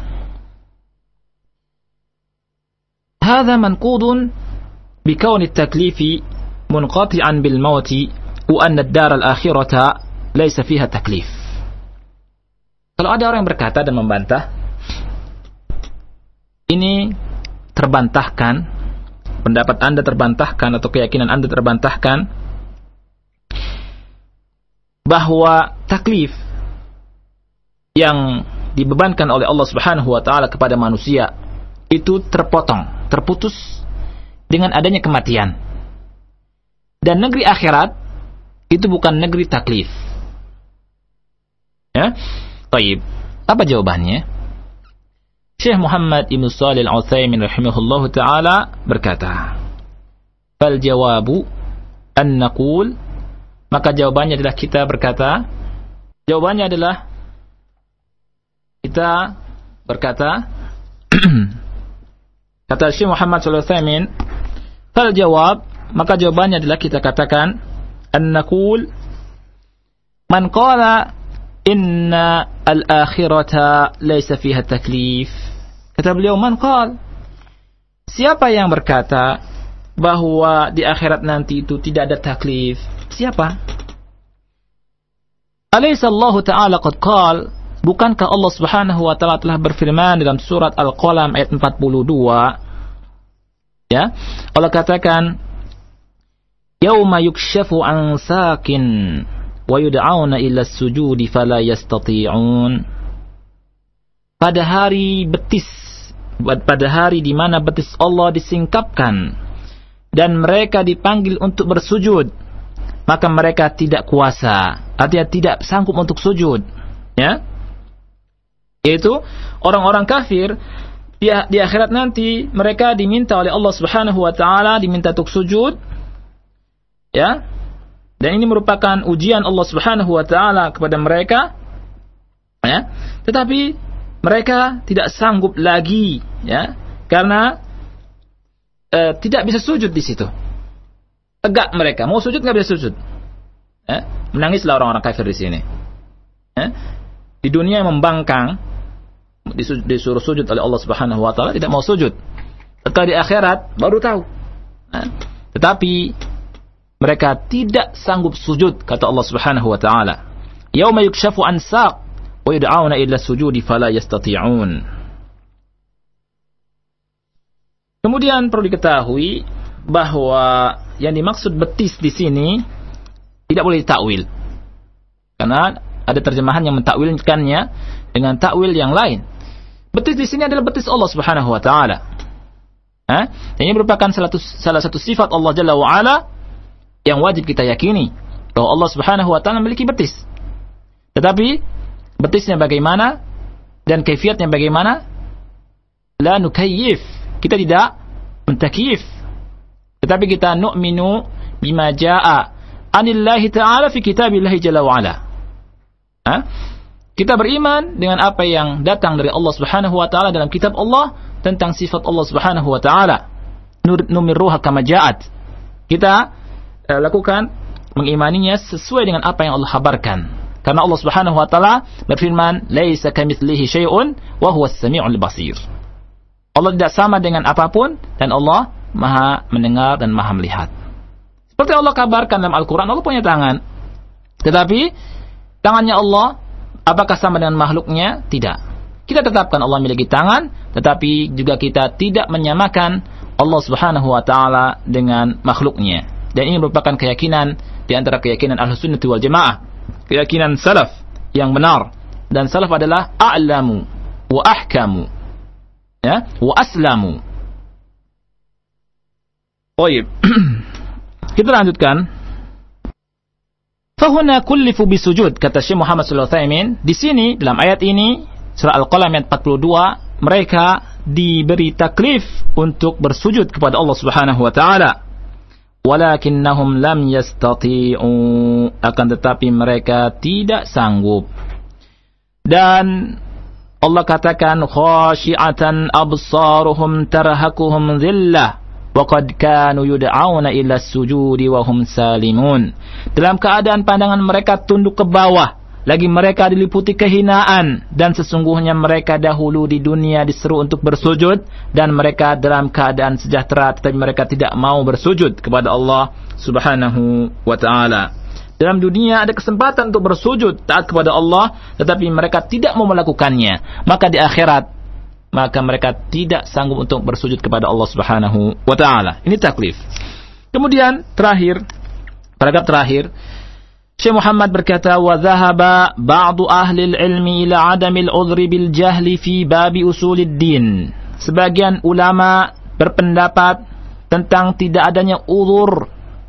hadza manqudun bi kauni at-taklifi munqati'an bil mauti wa anna ad-dar al-akhirata laysa fiha taklif. Kalau ada orang yang berkata dan membantah, ini terbantahkan, pendapat Anda terbantahkan atau keyakinan Anda terbantahkan bahwa taklif yang dibebankan oleh Allah Subhanahu wa taala kepada manusia itu terputus dengan adanya kematian. Dan negeri akhirat itu bukan negeri taklif. Ya? Baik. Apa jawabannya? Syekh Muhammad Ibn Shalih Al-Utsaimin rahimahullahu taala berkata, "Fal jawabu an naqul," maka jawabannya adalah kita berkata, kata Syekh Muhammad Shalih Al-Utsaimin, "Fal jawab," maka jawabannya adalah kita katakan, an naqul man qala inna al-akhirata laysa fiha taklif. Kata beliau, man qala, siapa yang berkata bahwa di akhirat nanti itu tidak ada taklif? Siapa? Alaysa Allah Ta'ala qad qala, bukankah Allah Subhanahu wa taala telah berfirman dalam surat Al-Qalam ayat 42? Ya, Allah katakan, yauma yukshafu an sakin wa yud'auna ila sujudi fala yastati'un. Pada hari di mana betis Allah disingkapkan dan mereka dipanggil untuk bersujud, maka mereka tidak kuasa, artinya tidak sanggup untuk sujud, ya. Yaitu orang-orang kafir di akhirat nanti mereka diminta oleh Allah Subhanahu wa taala, diminta untuk sujud, ya. Dan ini merupakan ujian Allah Subhanahu wa taala kepada mereka, ya. Tetapi mereka tidak sanggup lagi, ya, karena tidak bisa sujud di situ. Tegak mereka, mau sujud nggak bisa sujud. Ya. Menangislah orang-orang kafir di sini. Ya. Di dunia membangkang, disuruh sujud oleh Allah Subhanahu wa taala, tidak mau sujud. Setelah di akhirat baru tahu. Ya. Tetapi mereka tidak sanggup sujud, kata Allah Subhanahu wa taala. Yauma yukshafu an saq wa yud'auna ila sujudi fala yastati'un. Kemudian perlu diketahui bahwa yang dimaksud betis di sini tidak boleh ditakwil. Karena ada terjemahan yang mentakwilkannya dengan takwil yang lain. Betis di sini adalah betis Allah Subhanahu wa taala. Ini merupakan salah satu sifat Allah Jalla wa Ala yang wajib kita yakini, bahwa Allah Subhanahu wa taala memiliki betis. Tetapi betisnya bagaimana dan kaifiatnya bagaimana? La nukayyif. Kita tidak mentakyif. Tetapi kita nu'minu bima jaa'a anillahi ta'ala fi kitabillahi jalla wa ala. Kita beriman dengan apa yang datang dari Allah Subhanahu wa taala dalam kitab Allah tentang sifat Allah Subhanahu wa taala. Numirruha kama ja'at. Kita lakukan mengimaninya sesuai dengan apa yang Allah kabarkan. Karena Allah Subhanahu wa taala berfirman, "Laisa kamitslihi syai'un wa huwas samiul basir." Allah tidak sama dengan apapun dan Allah Maha mendengar dan Maha melihat. Seperti Allah kabarkan dalam Al-Qur'an, Allah punya tangan. Tetapi tangannya Allah apakah sama dengan makhluknya? Tidak. Kita tetapkan Allah memiliki tangan, tetapi juga kita tidak menyamakan Allah Subhanahu wa taala dengan makhluknya. Dan ini merupakan keyakinan di antara keyakinan Ahlussunnah wal Jamaah, keyakinan salaf yang benar. Dan salaf adalah a'lamu wa ahkamu, ya, wa aslamu. Baik. Kita lanjutkan. Fahuna kullifu bisujud, kata Syekh Muhammad Shalih Al-Utsaimin. Di sini dalam ayat ini surah Al-Qalam ayat 42, mereka diberi taklif untuk bersujud kepada Allah Subhanahu wa taala. Walakinnahum lam yastati'u, akan tetapi mereka tidak sanggup. Dan Allah katakan khashi'atan absaruhum tarhaquhum dhillah wa qad kanu yud'auna ila as-sujudi wa hum salimun. Dalam keadaan pandangan mereka tunduk ke bawah, lagi mereka diliputi kehinaan, dan sesungguhnya mereka dahulu di dunia diseru untuk bersujud dan mereka dalam keadaan sejahtera, tetapi mereka tidak mau bersujud kepada Allah Subhanahu wa taala. Dalam dunia ada kesempatan untuk bersujud taat kepada Allah, tetapi mereka tidak mau melakukannya. Maka di akhirat, maka mereka tidak sanggup untuk bersujud kepada Allah Subhanahu wa taala. Ini taklif. Kemudian terakhir, paragraf terakhir, Syekh Muhammad berkata, wa dhahaba ba'du ahli al-ilmi ila 'adami al-'udhri bil jahli fi babi usuluddin. Sebagian ulama berpendapat tentang tidak adanya uzur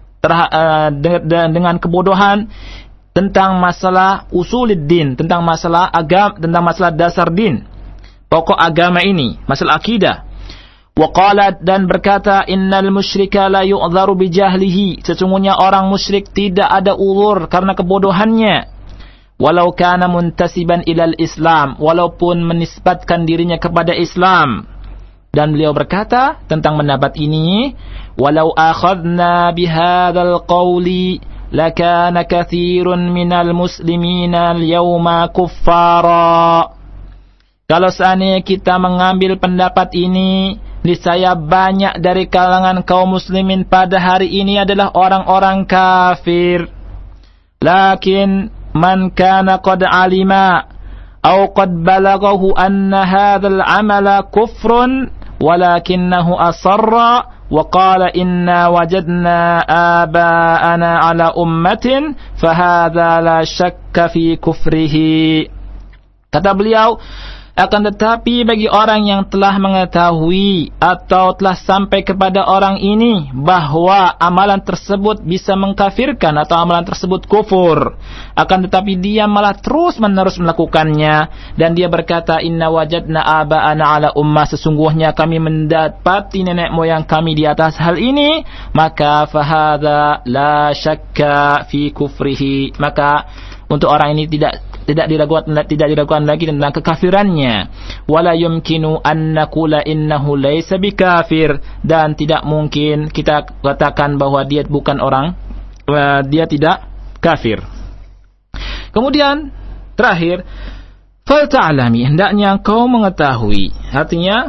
dengan kebodohan tentang masalah usuluddin, tentang masalah agama, tentang masalah dasar din, pokok agama ini, masalah akidah. Wa qala, dan berkata, innal musyrika la yu'dharu bi jahlihi, sesungguhnya orang musyrik tidak ada uzur karena kebodohannya, walau kana muntasiban ilal Islam, walaupun menisbatkan dirinya kepada Islam. Dan beliau berkata tentang pendapat ini, walau akhadna bihadzal qawli lakana katsirun minal muslimina al-yawma kuffara. Kalau seandainya kita mengambil pendapat ini, niscaya banyak dari kalangan kaum muslimin pada hari ini adalah orang-orang kafir. Lakin man kana qad alima aw qad balaghahu anna hadzal amala kufrun walakinnahu asarra wa qala inna wajadna aba'ana ala ummatin fahadza la syakka fi kufrihi. Kata beliau, akan tetapi bagi orang yang telah mengetahui atau telah sampai kepada orang ini bahwa amalan tersebut bisa mengkafirkan atau amalan tersebut kufur, akan tetapi dia malah terus menerus melakukannya, dan dia berkata, inna wajadna aba'ana ala ummah, sesungguhnya kami mendapati nenek moyang kami di atas hal ini, maka fahadha la syakka fi kufrihi, maka untuk orang ini tidak diragukan lagi tentang kekafirannya. Wala yumkinu an naqula innahu laysa bikafir, dan tidak mungkin kita katakan bahwa dia bukan orang, dia tidak kafir. Kemudian terakhir, fal ta'lami, hendaknya engkau mengetahui. Artinya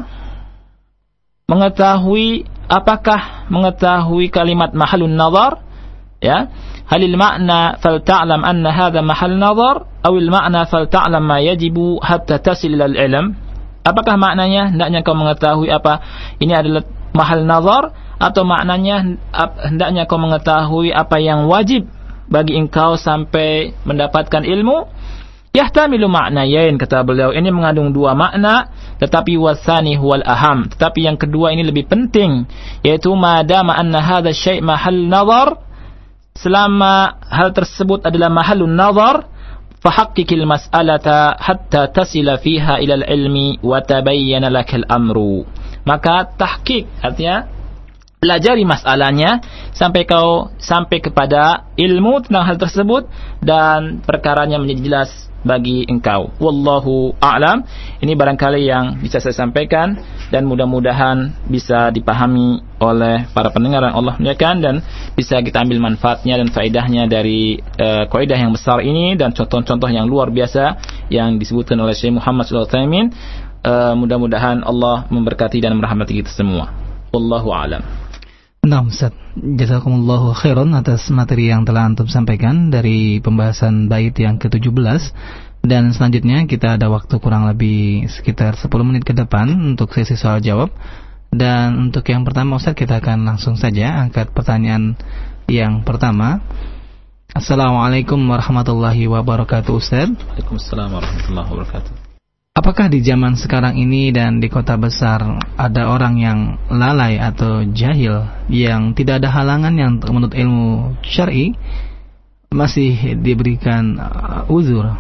mengetahui, apakah mengetahui kalimat mahallun nazar, ya? Halil makna fal ta'lam anna hadha mahal nazar, awil makna fal ta'lam ma yajibu hatta tasil ilal ilm. Apakah maknanya hendaknya kau mengetahui apa ini adalah mahal nazar, atau maknanya hendaknya kau mengetahui apa yang wajib bagi engkau sampai mendapatkan ilmu? Yahtamilu ma'nayain, kata beliau, ini mengandung dua makna, tetapi wasani huwal aham, tetapi yang kedua ini lebih penting, yaitu madama anna hadha syai' mahal nazar, selama hal tersebut adalah mahallun nazar, fahaqqikil mas'alata hatta tasila fiha ilal ilmi wa tabayyana lakal amru. Maka tahqiq, artinya pelajari masalahnya sampai kepada ilmu tentang hal tersebut dan perkaranya menjadi jelas bagi engkau. Wallahu a'lam. Ini barangkali yang bisa saya sampaikan dan mudah-mudahan bisa dipahami oleh para pendengar yang Allah muliakan, dan bisa kita ambil manfaatnya dan faedahnya dari kaidah yang besar ini dan contoh-contoh yang luar biasa yang disebutkan oleh Syekh Muhammad Shalih Al-Utsaimin. Mudah-mudahan Allah memberkati dan merahmati kita semua. Wallahu a'lam. Nah, Ustaz, jazakumullahu khairan atas materi yang telah antum sampaikan dari pembahasan bait yang ke-17, dan selanjutnya kita ada waktu kurang lebih sekitar 10 menit ke depan untuk sesi soal jawab. Dan untuk yang pertama, Ustaz, kita akan langsung saja angkat pertanyaan yang pertama. Assalamualaikum warahmatullahi wabarakatuh, Ustaz. Waalaikumsalam warahmatullahi wabarakatuh. Apakah di zaman sekarang ini dan di kota besar ada orang yang lalai atau jahil yang tidak ada halangan yang menurut ilmu syar'i masih diberikan uzur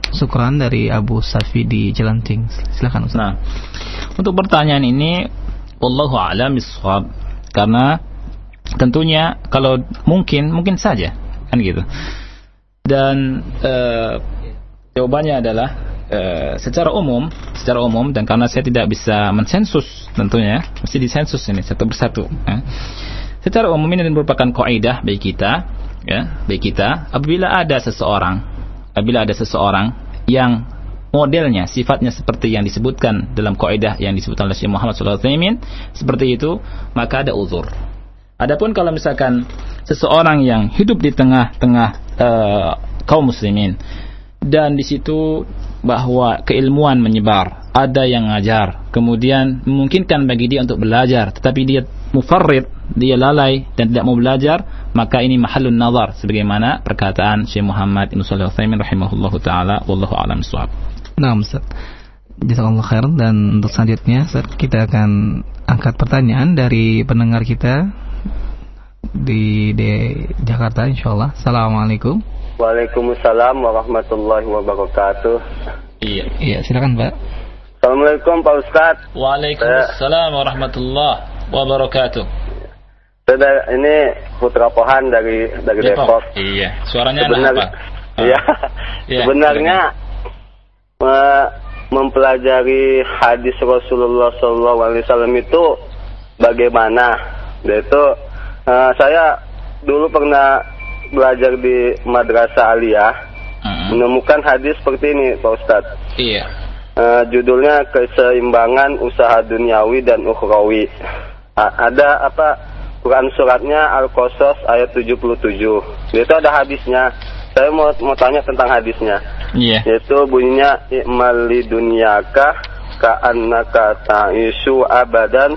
Syukran dari Abu Safi di Jelanting. Silakan Ustaz. Nah, untuk pertanyaan ini wallahu a'lam bishawab, karena tentunya kalau mungkin saja kan gitu. Dan jawabannya adalah secara umum, dan karena saya tidak bisa mensensus, tentunya mesti disensus ini satu persatu. Secara umum ini merupakan kaidah bagi kita, apabila ada seseorang yang modelnya, sifatnya seperti yang disebutkan dalam kaidah yang disebutkan oleh Syekh Muhammad SAW seperti itu, maka ada uzur. Adapun kalau misalkan seseorang yang hidup di tengah-tengah kaum muslimin, dan di situ bahwa keilmuan menyebar, ada yang ngajar, kemudian memungkinkan bagi dia untuk belajar, tetapi dia mufarrid, dia lalai dan tidak mau belajar, maka ini mahallun nazar, sebagaimana perkataan Syekh Muhammad Ibn Shalih Al-Utsaimin rahimahullahu taala, wallahu a'lam bishawab. Nah, Ustaz, jazakallahu khair. Dan untuk selanjutnya, Ustaz, kita akan angkat pertanyaan dari pendengar kita di Jakarta, insyaallah. Assalamualaikum. Waalaikumsalam warahmatullahi wabarakatuh. Iya, silakan, Pak. Assalamualaikum Pak Ustadz. Waalaikumsalam warahmatullahi wabarakatuh. Ini Putra Pohan dari Depok. Iya, suaranya enak, Pak. Iya. Sebenarnya mempelajari hadis Rasulullah SAW itu bagaimana? Itu saya dulu pernah belajar di Madrasah Aliyah, menemukan hadis seperti ini, Pak Ustadz. Iya. Judulnya Keseimbangan Usaha Duniawi dan Ukhrawi. Ada Quran suratnya Al-Qasas ayat 77. Itu ada hadisnya. Saya mau tanya tentang hadisnya. Iya. Yaitu bunyinya i'mal lidunyaka ka'annaka ta'isu abadan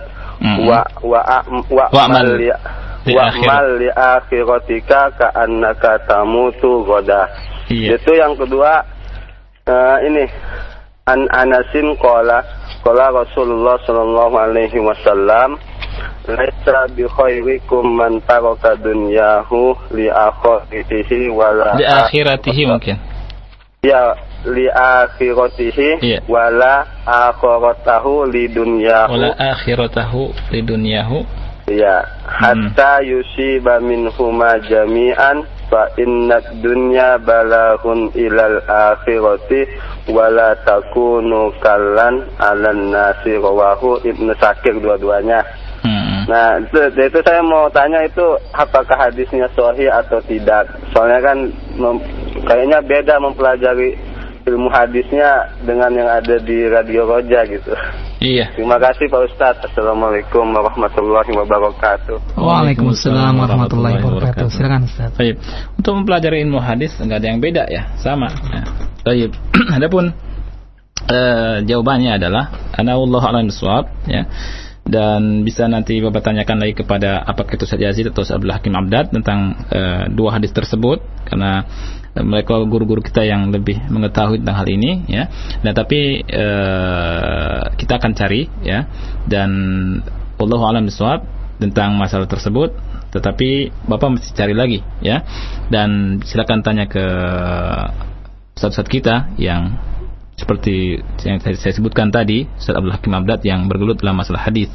wa'mal li akhiratika ka'annaka tamutu ghadan. Itu yang kedua. Ini An Anasin qala Rasulullah sallallahu alaihi wasallam, laisa bi khairikum man taraka dunyahu li akhiratihi wala li akhiratihi mungkin. Ya, li akhiratihi wala akhiratahu li dunyahu. Wala akhiratahu li dunyahu. Ya, hatta yusiba minhuma jami'an fa inna dunya balaghun ilal akhirati wala takunu kallan 'alan nasi, rawahu Ibnu Syakir, dua-duanya. Nah, itu saya mau tanya, itu apakah hadisnya sahih atau tidak? Soalnya kan kayaknya beda mempelajari ilmu hadisnya dengan yang ada di Radio Roja gitu. Iya. Terima kasih Pak Ustadz. Assalamualaikum warahmatullahi wabarakatuh. Waalaikumsalam warahmatullahi wabarakatuh. Silakan Ustaz. Baik. Untuk mempelajari ilmu hadis enggak ada yang beda ya, sama. Ya. Baik. Adapun jawabannya adalah ana wallahu a'lam bishawab, ya. Dan bisa nanti Bapak tanyakan lagi kepada apakah itu Ustaz Yazid atau Abdul Hakim Abdad tentang dua hadis tersebut, karena mereka guru-guru kita yang lebih mengetahui tentang hal ini, ya. Nah, tapi kita akan cari, ya, dan wallahu a'lam bishawab tentang masalah tersebut. Tetapi Bapak mesti cari lagi, ya, dan silakan tanya ke ustaz-ustaz kita yang seperti yang saya sebutkan tadi, Ustaz Abdul Hakim Abdad yang bergelut dalam masalah hadis,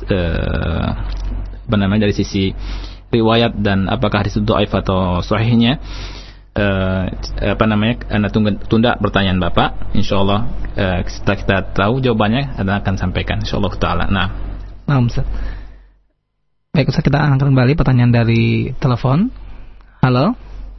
dari sisi riwayat dan apakah hadis itu dhaif atau sahihnya. Anda tunda pertanyaan Bapak. Insyaallah setelah kita tahu jawabannya, Anda akan sampaikan insyaallah taala. Nah, Ustaz. Baik, Ustaz, kita angkat kembali pertanyaan dari telepon. Halo.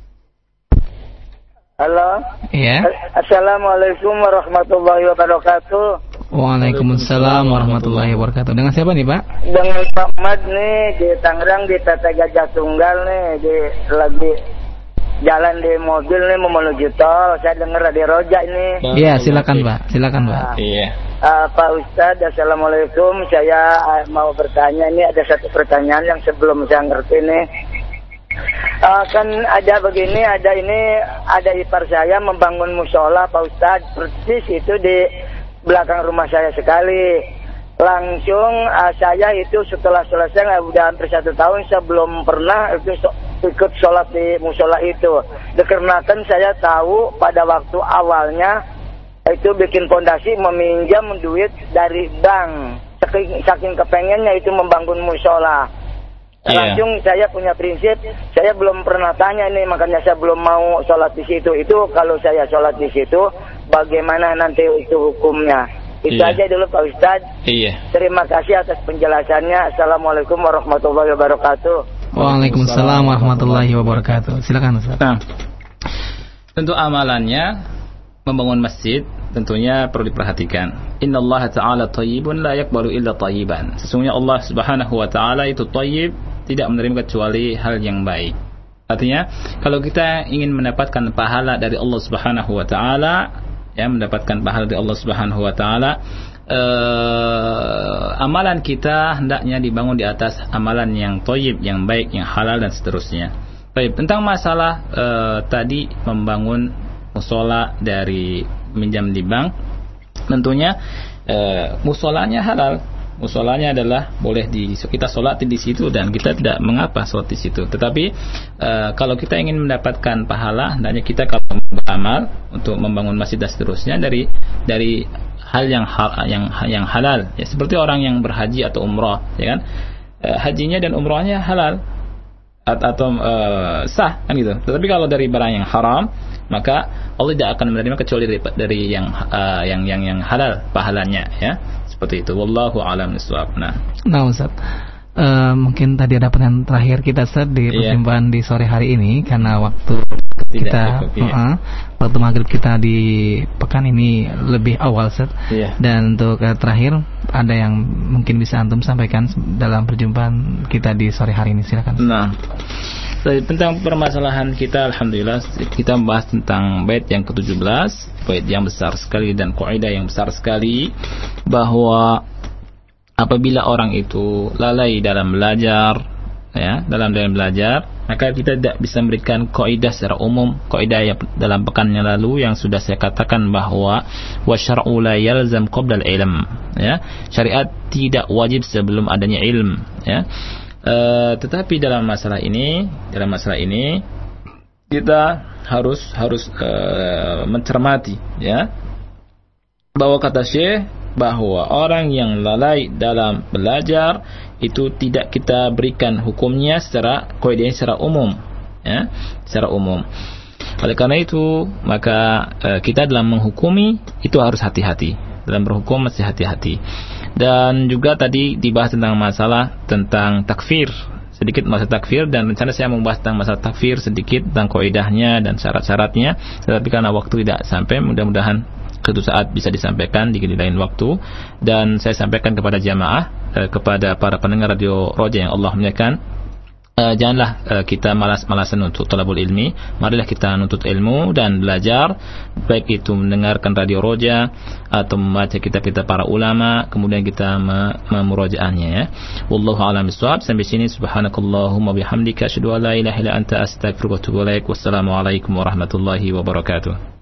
Halo. Iya. Assalamualaikum warahmatullahi wabarakatuh. Waalaikumsalam warahmatullahi wabarakatuh. Dengan siapa nih, Pak? Dengan Pak Mad nih di Tangerang, di Tata Gajah Tunggal nih, lagi jalan di mobil nih mau menuju tol. Saya dengar Radio Roja ini. Iya, silakan Pak. Silakan Pak. Iya. Pak Ustadz, assalamualaikum. Saya mau bertanya, ini ada satu pertanyaan yang sebelum saya ngerti nih. Kan ada begini, ada ipar saya membangun musola, Pak Ustadz, persis itu di belakang rumah saya sekali. Langsung saya itu setelah selesai, udah hampir 1 tahun, saya belum pernah ikut sholat di musola itu. Dikarenakan saya tahu pada waktu awalnya itu bikin fondasi meminjam duit dari bank. Saking kepengennya itu membangun musola. Langsung saya punya prinsip, saya belum pernah tanya ini, makanya saya belum mau sholat di situ. Itu kalau saya sholat di situ, bagaimana nanti itu hukumnya? Itu aja dulu Pak Ustadz. Terima kasih atas penjelasannya. Assalamualaikum warahmatullahi wabarakatuh. Waalaikumsalam warahmatullahi wabarakatuh. Silakan Ustaz. Nah, tentu amalannya membangun masjid tentunya perlu diperhatikan. Innallaha ta'ala thayyibun la yaqbalu illa thayyiban. Sesungguhnya Allah Subhanahu wa taala itu thayyib, tidak menerima kecuali hal yang baik. Artinya, kalau kita ingin mendapatkan pahala dari Allah Subhanahu wa taala, ya, mendapatkan pahala dari Allah Subhanahu wa taala, amalan kita hendaknya dibangun di atas amalan yang thayyib, yang baik, yang halal dan seterusnya. Baik, tentang masalah tadi membangun musola dari minjam di bank, tentunya musolanya halal. Musolanya adalah boleh kita sholat di situ dan kita tidak mengapa sholat di situ. Tetapi kalau kita ingin mendapatkan pahala, hendaknya kita kalau beramal untuk membangun masjid dan seterusnya dari hal yang halal. Ya, seperti orang yang berhaji atau umrah, ya kan? Hajinya dan umrahnya halal atau sah, kan gitu. Tetapi kalau dari barang yang haram, maka Allah tidak akan menerima kecuali dari yang halal pahalanya, ya. Seperti itu. Wallahu a'lam bishawab. Nah, Ustaz. Mungkin tadi ada pertanyaan terakhir kita Ustaz di perjumpaan di sore hari ini, karena waktu kita waktu maghrib kita di pekan ini lebih awal Ustaz. Dan untuk terakhir ada yang mungkin bisa antum sampaikan dalam perjumpaan kita di sore hari ini, silakan. Nah, tentang permasalahan kita, alhamdulillah kita membahas tentang bait yang ke-17, bait yang besar sekali dan kaidah yang besar sekali, bahwa apabila orang itu lalai dalam belajar, ya, dalam belajar, maka kita tidak bisa memberikan kaidah secara umum. Kaidah yang dalam pekan yang lalu yang sudah saya katakan bahwa wasyar'u la yalzam qabla al-ilm, ya, syariat tidak wajib sebelum adanya ilm, ya. Tetapi dalam masalah ini kita harus mencermati, ya, bahwa kata Syekh bahwa orang yang lalai dalam belajar itu tidak kita berikan hukumnya secara kaidahnya secara umum, ya, secara umum. Oleh karena itu maka kita dalam menghukumi itu harus hati-hati, dalam berhukum mesti hati-hati. Dan juga tadi dibahas tentang masalah tentang takfir, sedikit masalah takfir, dan rencana saya membahas tentang masalah takfir sedikit tentang kaidahnya dan syarat-syaratnya, tetapi karena waktu tidak sampai, mudah-mudahan suatu saat bisa disampaikan di lain waktu. Dan saya sampaikan kepada jamaah, kepada para pendengar radio Roja yang Allah muliakan, janganlah kita malas-malasan untuk talabul ilmi. Marilah kita nuntut ilmu dan belajar, baik itu mendengarkan radio Roja atau membaca kitab-kitab para ulama, kemudian kita memurojaahnya, ya. Wallahu a'lam bishawab. Sampai sini, subhanakallahumma bihamdika asyhadu an la ilaha illa anta astaghfiruka wa atubu ilaik. Wassalamu alaikum warahmatullahi wabarakatuh.